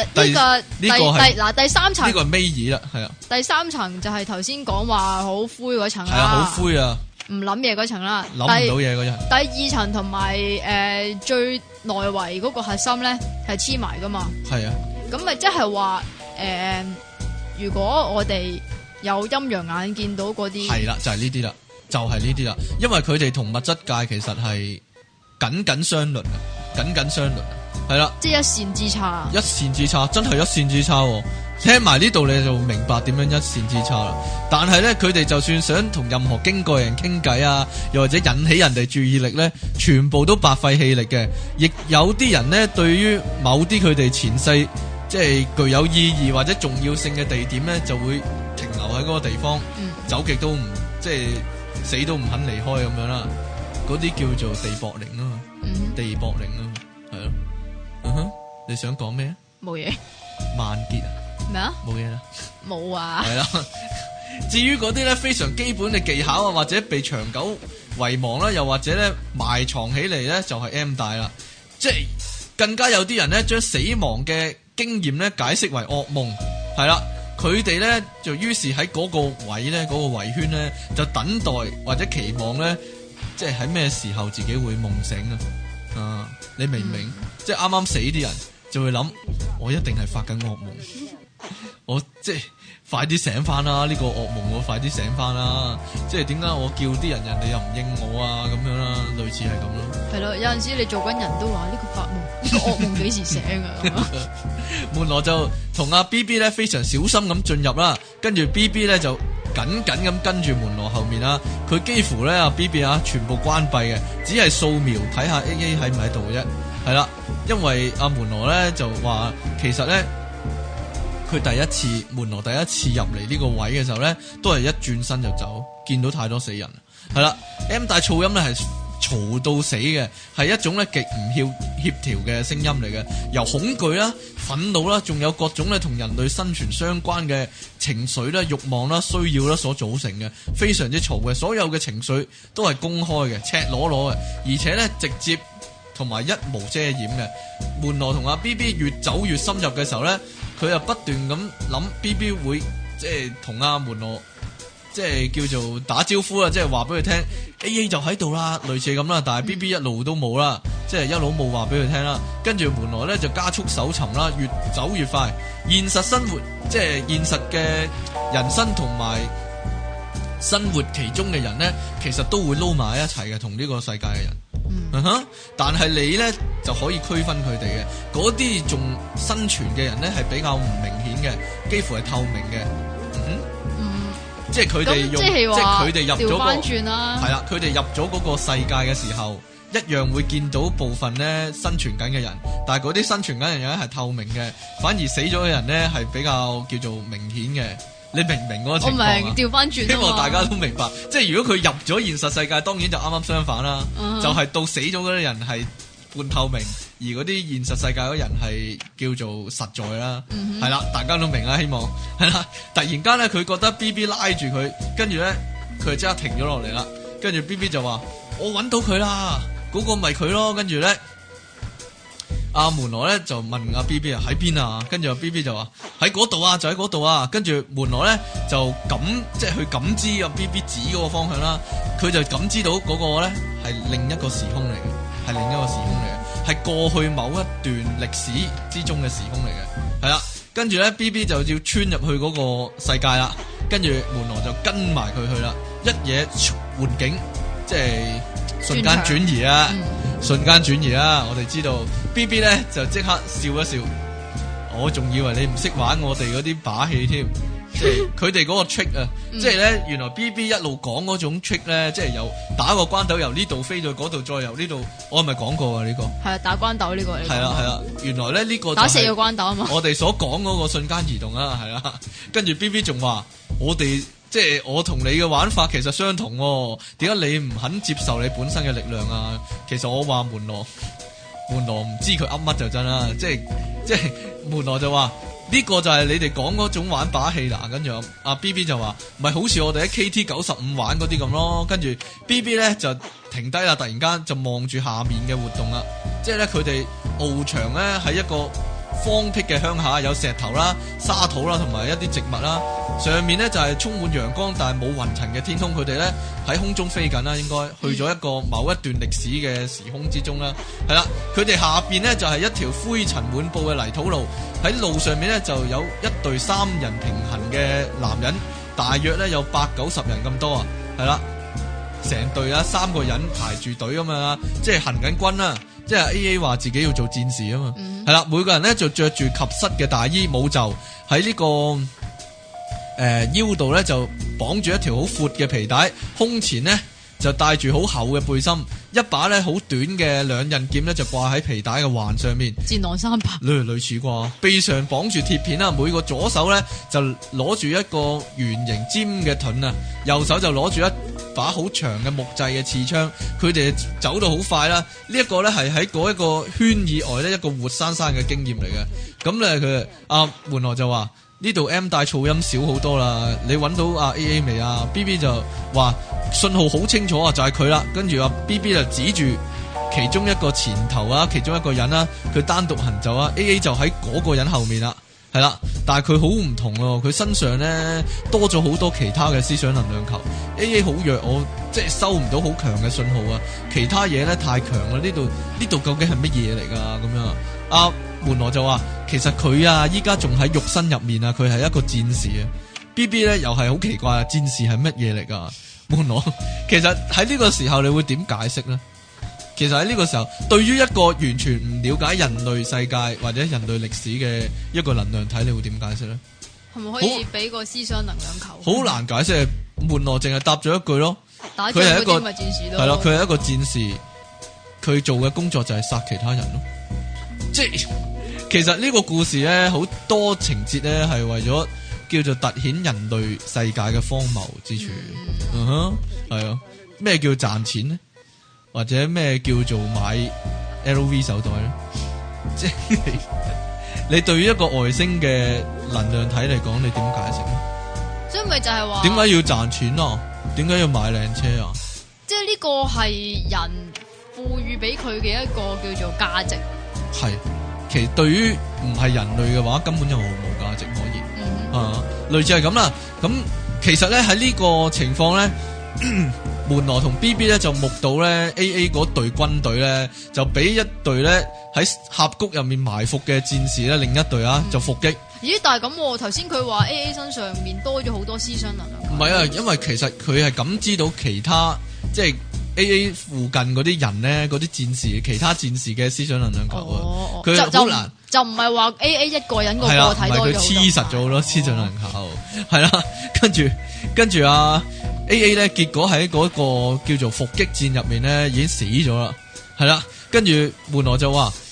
第三層呢
個係尾二啦，係啊。第
三層就係頭先講話好灰嗰層啦，
係啊，好灰啊，
唔諗嘢嗰層啦，
諗唔到嘢嗰層。
第二層同埋最內圍嗰個核心咧係黐埋噶嘛，
係啊。
咁咪即係話如果我哋有陰陽眼見到嗰啲，
係啦，就係呢啲啦，就係呢啲啦，因為佢哋同物質界其實係緊相鄰啊，緊相鄰。係啦，
即係一線之差，
一線之差，真係一線之差。聽埋呢度你就明白點樣一線之差啦。但係咧，佢哋就算想同任何經過人傾偈啊，又或者引起人哋注意力咧，全部都白費氣力嘅。亦有啲人咧，對於某啲佢哋前世即係具有意義或者重要性嘅地點咧，就會停留喺嗰個地方，走極都唔即係死都唔肯離開咁樣啦。嗰啲叫做地縛靈啊嘛，地縛靈啊，係咯。你想講咩？
冇嘢。
萬劫啊？
咩啊？
冇嘢啦。
冇啊。係
啦。至於嗰啲咧非常基本嘅技巧啊，或者被長久遺忘啦，又或者咧埋藏起嚟咧，就係 M 大啦。即係更加有啲人咧將死亡嘅經驗咧解釋為噩夢，係啦。佢哋咧就於是喺嗰個位咧，嗰個圍圈咧就等待或者期望咧，即係喺咩時候自己會夢醒啊？你明唔明？即係啱啱死啲人就會諗，我一定係發緊噩夢，我即係快啲醒翻啦！呢個噩夢我快啲醒翻啦！即係點解我叫啲人哋又唔應我啊？咁樣啦，類似係咁咯。係咯，
有陣時你做緊人都話呢個發夢，呢個噩夢幾時醒啊？
門羅就同阿 BB 咧非常小心咁進入啦，跟住 BB 咧就緊咁跟住門羅後面啦。佢幾乎咧阿 BB 啊全部關閉嘅，只係掃描睇下 AA 喺唔喺度啫。係啦，因為阿門羅咧就話其實咧佢門羅第一次入嚟呢個位嘅時候咧，都係一轉身就走，見到太多死人。係啦 ，M 大噪音咧係嘈到死嘅，係一種咧極唔協調嘅聲音嚟嘅，由恐懼啦、憤怒啦，仲有各種咧同人類生存相關嘅情緒啦、慾望啦、需要啦所組成嘅，非常之嘈嘅。所有嘅情緒都係公開嘅、赤裸裸嘅，而且咧直接同埋一無遮掩嘅。門羅同阿 BB 越走越深入嘅時候咧，佢又不斷咁諗 BB 會即係同阿門羅即係叫做打招呼啦，即係話俾佢聽 AA 就喺度啦，類似咁啦。但係 BB 一路都冇啦，即係一路冇話俾佢聽啦。跟住門羅咧就加速搜尋啦，越走越快。現實生活即係現實嘅人生同埋生活其中嘅人咧，其實都會撈埋一齊嘅，同呢個世界嘅人。但係你咧就可以區分佢哋嘅，嗰啲仲生存嘅人咧係比較唔明顯嘅，幾乎係透明嘅。 即係佢哋用，
即係
佢哋入咗
調翻轉啦，
係啦，佢哋入咗嗰個世界嘅時候，一樣會見到部分咧生存緊嘅人，但係嗰啲生存緊嘅人係透明嘅，反而死咗嘅人咧係比較叫做明顯嘅。你明唔明嗰個情況啊？
我明，調翻轉。
希望大家都明白，即係如果佢入咗現實世界，當然就啱啱相反啦，就係到死咗嗰啲人係半透明，而嗰啲現實世界嗰人係叫做實在啦，係啦，大家都明啦，希望係啦。突然間咧，佢覺得 BB 拉住佢，跟住咧佢就即刻停咗落嚟啦，跟住 BB 就話：我揾到佢啦，嗰個咪佢咯。跟住咧，阿門羅咧就問阿 BB 啊喺邊啊，跟住阿 BB 就話喺嗰度啊，就喺嗰度啊。跟住門羅咧就即係去感知阿 BB 指嗰個方向啦，佢就感知到嗰個咧係另一個時空嚟嘅，係另一個時空嚟嘅，係過去某一段歷史之中嘅時空嚟嘅，係啦。跟住咧 BB 就要穿入去嗰個世界啦，跟住門羅就跟埋佢去啦，一嘢換景，即係瞬間轉移啊！瞬間轉移啦！我哋知道 BB 咧就即刻笑一笑，我仲以為你唔識玩我哋嗰啲把戲添，即係佢哋嗰個 trick 啊，即係咧原來 BB 一路講嗰種 trick 咧，即係由打個關斗由呢度飛到嗰度，再由呢度，我係咪講過啊呢個？係
啊，打關斗呢個。
係啦，原來咧呢個
打4個關斗啊嘛。
我哋所講嗰個瞬間移動啊，係啦，跟住 BB 仲話我哋。即係我同你嘅玩法其實相同喎，點解你唔肯接受你本身嘅力量啊？其實我話門羅唔知佢噏乜就真啦，即係門羅就話呢個就係你哋講嗰種玩把戲啦。跟住阿 BB 就話唔係好似我哋喺 KT95 玩嗰啲咁咯。跟住 BB 咧就停低啦，突然間就望住下面嘅活動啦。即係咧佢哋翱翔咧喺一個荒僻嘅鄉下，有石頭啦、沙土啦，同埋一啲植物啦。上面咧就係充滿陽光，但係冇雲層嘅天空。佢哋咧喺空中飛緊啦，應該去咗一個某一段歷史嘅時空之中啦。係啦，佢哋下邊咧就係一條灰塵滿布嘅泥土路，喺路上面咧就有一隊3人平行嘅男人，大約咧有80-90人咁多啊。係啦，成隊啊3個人排住隊咁樣，即係行緊軍啦。即係 AA 話自己要做戰士啊嘛，係啦，每個人咧就着住及膝嘅大衣，冇袖，喺呢個腰度咧就綁住一條好闊嘅皮帶，胸前呢就帶住好厚嘅背心，一把咧好短嘅2刃劍咧就掛喺皮帶嘅環上面，
戰狼3把，
類似啩，背上綁住鐵片啦，每個左手咧就攞住一個圓形尖嘅盾啊，右手就攞住一把好長嘅木製嘅刺槍，佢哋走到好快啦。呢一個咧係喺嗰一個圈以外咧一個活生生嘅經驗嚟嘅。咁咧佢阿門羅就話呢度 M 帶噪音少好多啦，你揾到阿 AA 未啊 ？BB 就話信號好清楚啊，就係佢啦。跟住阿 BB 就指住其中一個前頭啊，其中一個人啦，佢單獨行走啊。AA 就喺嗰個人後面啦。係啦，但係佢好唔同咯，佢身上咧多咗好多其他嘅思想能量球。AA 好弱，我即係收唔到好強嘅信號啊。其他嘢咧太強啦，呢度究竟係乜嘢嚟噶？咁樣阿門羅就話，其實佢啊依家仲喺肉身入面啊，佢係一個戰士啊。BB 咧又係好奇怪啊，戰士係乜嘢嚟噶？門羅，其實喺呢個時候你會點解釋咧？其實喺呢個時候，對於一個完全唔了解人類世界或者人類歷史嘅一個能量體，你會點解釋咧？
係咪可以俾個思想能量球？
好難解釋，門羅淨係答咗一句咯。
打仗嗰啲咪戰士咯。係咯，
佢係一個戰士，佢做嘅工作就係殺其他人咯。即係其實呢個故事咧，好多情節咧係為咗叫做凸顯人類世界嘅荒謬之處。係啊，咩叫賺錢咧？或者咩叫做買 LV 手袋咧？即係你對於一個外星嘅能量體嚟講，你點解釋咧？
所以咪就係話
點解要賺錢啊？點解要買靚車啊？
即係呢個係人賦予俾佢嘅一個叫做價值。
係，其實對於唔係人類嘅話，根本就毫無價值可言。類似係咁啦。咁其實咧喺呢個情況咧。門羅同 BB 咧就目睹咧 AA 嗰隊軍隊咧就俾一隊咧喺峽谷入面埋伏嘅戰士咧，另一隊就伏擊。
咦？但係咁，頭先佢話 AA 身上面多咗好多思想能量。
唔係啊，因為其實佢係感知到其他即係 AA 附近嗰啲人咧，嗰啲戰士，其他戰士嘅思想能量球啊。佢好難
就唔係話 AA 一個人個個體多咗。
佢黐實咗好多思想能量球，係啦，跟住跟住AA 咧，結果喺嗰個叫做伏擊戰入面咧，已經死咗啦，係啦。跟住門羅就話：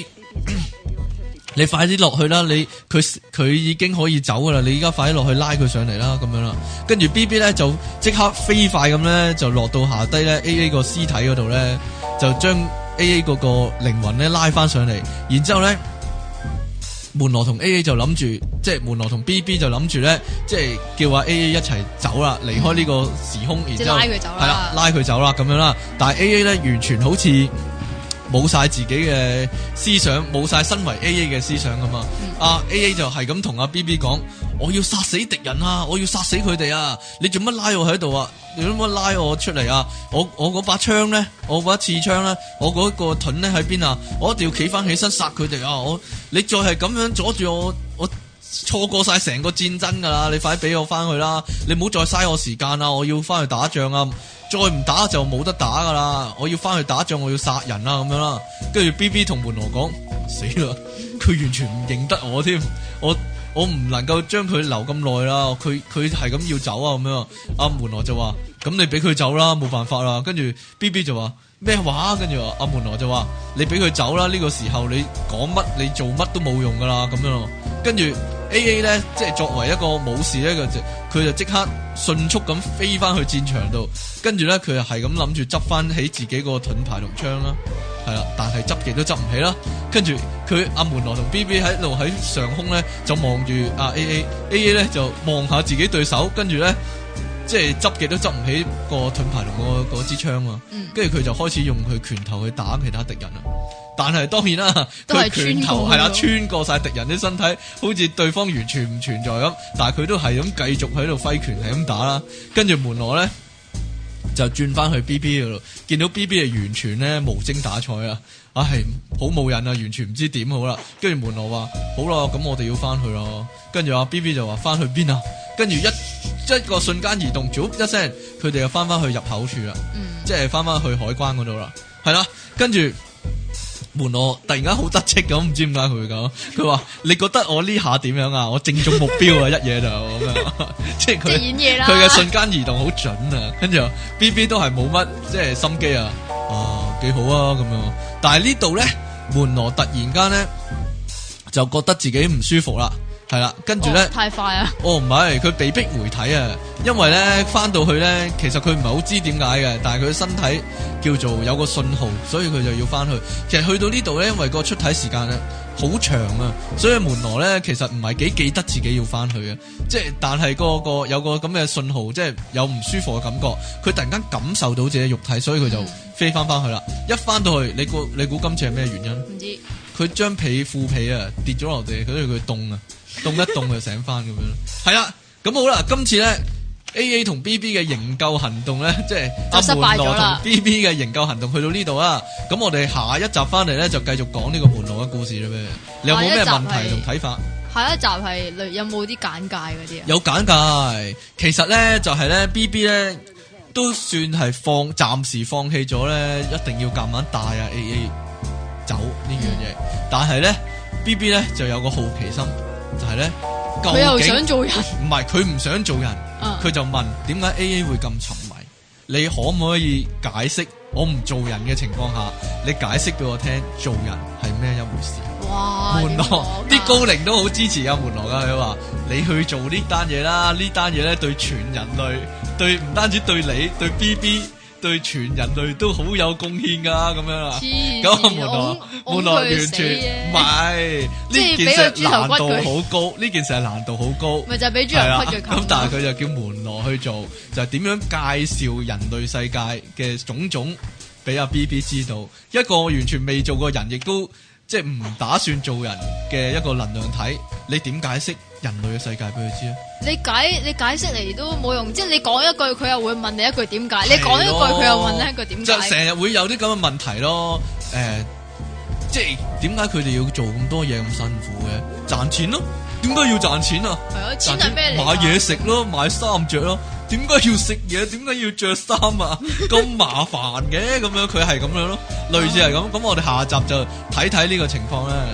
你快啲落去啦！佢已經可以走噶啦，你而家快啲落去拉佢上嚟啦，咁樣啦。跟住 BB 咧就即刻飛快咁咧，就落到下低咧 AA 個屍體嗰度咧，就將 AA 嗰個靈魂咧拉翻上嚟，然之後咧。門羅同 AA 就諗住，即係門羅同 BB 就諗住咧，即係叫阿 AA 一齊走啦，離開呢個時空，然之後
拉佢走啦，
係啦，拉佢走啦咁樣啦。但係 AA 咧完全好似冇晒自己嘅思想，冇晒身為 AA 嘅思想咁啊。AA 就係咁同阿 BB 講：我要殺死敵人啊！我要殺死佢哋啊！你做乜拉我喺度啊？你做乜拉我出嚟啊？我嗰把槍咧，我嗰把刺槍咧，我嗰個盾咧喺邊啊？我一定要企翻起身殺佢哋啊！你再係咁樣阻住我錯過晒成個戰爭噶啦！你快啲俾我翻去啦！你唔好再嘥我時間啦！我要翻去打仗啊！再唔打就冇得打噶啦！我要翻去打仗，我要殺人啦咁樣啦。跟住 BB 同門羅講：死啦！佢完全唔認得我添，我唔能夠將佢留咁耐啦，佢係咁要走啊咁樣。阿門羅就話：咁你俾佢走啦，冇辦法啦。跟住 BB 就話咩話？跟住阿門羅就話：你俾佢走啦，呢個時候你講乜你做乜都冇用噶啦咁樣。跟住 AA 咧，即係作為一個武士咧，佢就即刻迅速咁飛翻去戰場度，跟住咧佢又係咁諗住執翻起自己個盾牌同槍啦。係啦，但係執極都執唔起啦。跟住佢阿門羅同 BB 喺度喺上空咧，就望住阿 AA 咧就望下自己對手，跟住咧即係執極都執唔起個盾牌同嗰支槍啊。跟住佢就開始用佢拳頭去打其他敵人啦。但係當然啦，佢拳頭係啦穿過晒敵人啲身體，好似對方完全唔存在咁。但係佢都係咁繼續喺度揮拳係咁打啦。跟住門羅咧就轉翻去 BB 嗰度，見到 BB 係完全咧無精打采啊！係好冇癮啊，完全唔知點好啦。跟住門羅話：好啦，咁我哋要翻去咯。跟住阿 BB 就話：翻去邊啊？跟住一個瞬間移動，一聲，佢哋又翻去入口處啦，即係翻去海關嗰度啦。係啦，跟住門羅突然間好得戚咁，唔知點解佢會咁。佢話：你覺得我呢下點樣啊？我正中目標啊！一嘢就咁樣，即係佢
演嘢啦。
佢嘅瞬間移動好準啊！跟住 BB 都係冇乜即係心機啊，幾好啊咁樣。但係呢度咧，門羅突然間咧就覺得自己唔舒服啦。係啦，跟住咧
太快啊！
唔係，佢被逼回體啊，因為咧翻到去咧，其實佢唔係好知點解嘅，但係佢身體叫做有個信號，所以佢就要翻去。其實去到呢度咧，因為個出體時間咧好長啊，所以門羅咧其實唔係幾記得自己要翻去嘅，即係但係個有個咁嘅信號，即係有唔舒服嘅感覺，佢突然間感受到自己肉體，所以佢就飛翻去啦。一翻到去，你估今次係咩原因？唔知。佢將副被啊跌咗落地，佢凍啊。凍一凍就醒翻咁樣，係啦，咁好啦，今次咧 AA 同 BB 嘅營救行動咧，即係阿門羅同 BB 嘅營救行動去到呢度啊，咁我哋下一集翻嚟咧就繼續講呢個門羅嘅故事啦咩？你有冇咩問題同睇法？
下一集係有冇啲簡介嗰啲啊？
有簡介，其實咧就係咧 BB 咧都算係暫時放棄咗咧，一定要夾硬帶啊 AA 走呢樣嘢，但係咧 BB 咧就有個好奇心。就係咧，
佢又想做人，
唔係佢唔想做人，佢就問點解 AA 會咁沉迷？你可唔可以解釋？我唔做人嘅情況下，你解釋俾我聽，做人係咩一回事？
哇！
門羅啲高靈都好支持阿門羅噶，佢話你去做呢單嘢啦，呢單嘢咧對全人類，對唔單止對你，對 BB。對全人類都好有貢獻噶，咁樣啦。咁門羅完全唔係呢件事難度好高，呢件事係難度好高。
咪就係俾豬頭屈佢。
咁但係佢就叫門羅去做，就係點樣介紹人類世界嘅種種俾阿 BB 知道。一個完全未做過人，亦都即係唔打算做人嘅一個能量體，你點解釋人類嘅世界俾佢知啊？
你解釋嚟都冇用，即係你講一句，佢又會問你一句點解？你講一句，佢又問你一句點解？
就成日會有啲咁嘅問題咯。即係點解佢哋要做咁多嘢咁辛苦嘅？賺錢咯。點解要賺錢啊？係啊，錢係咩嚟？買嘢食咯，買衫着咯。點解要食嘢？點解要着衫啊？咁麻煩嘅咁樣，佢係咁樣咯，類似係咁。咁我哋下集就睇睇呢個情況咧。好，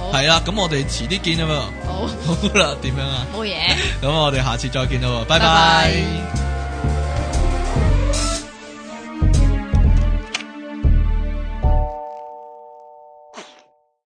係啦，咁我哋遲啲見啊嘛。
好，
好啦，點樣啊？
冇嘢。
咁我哋下次再見啦，拜
拜
拜。
拜。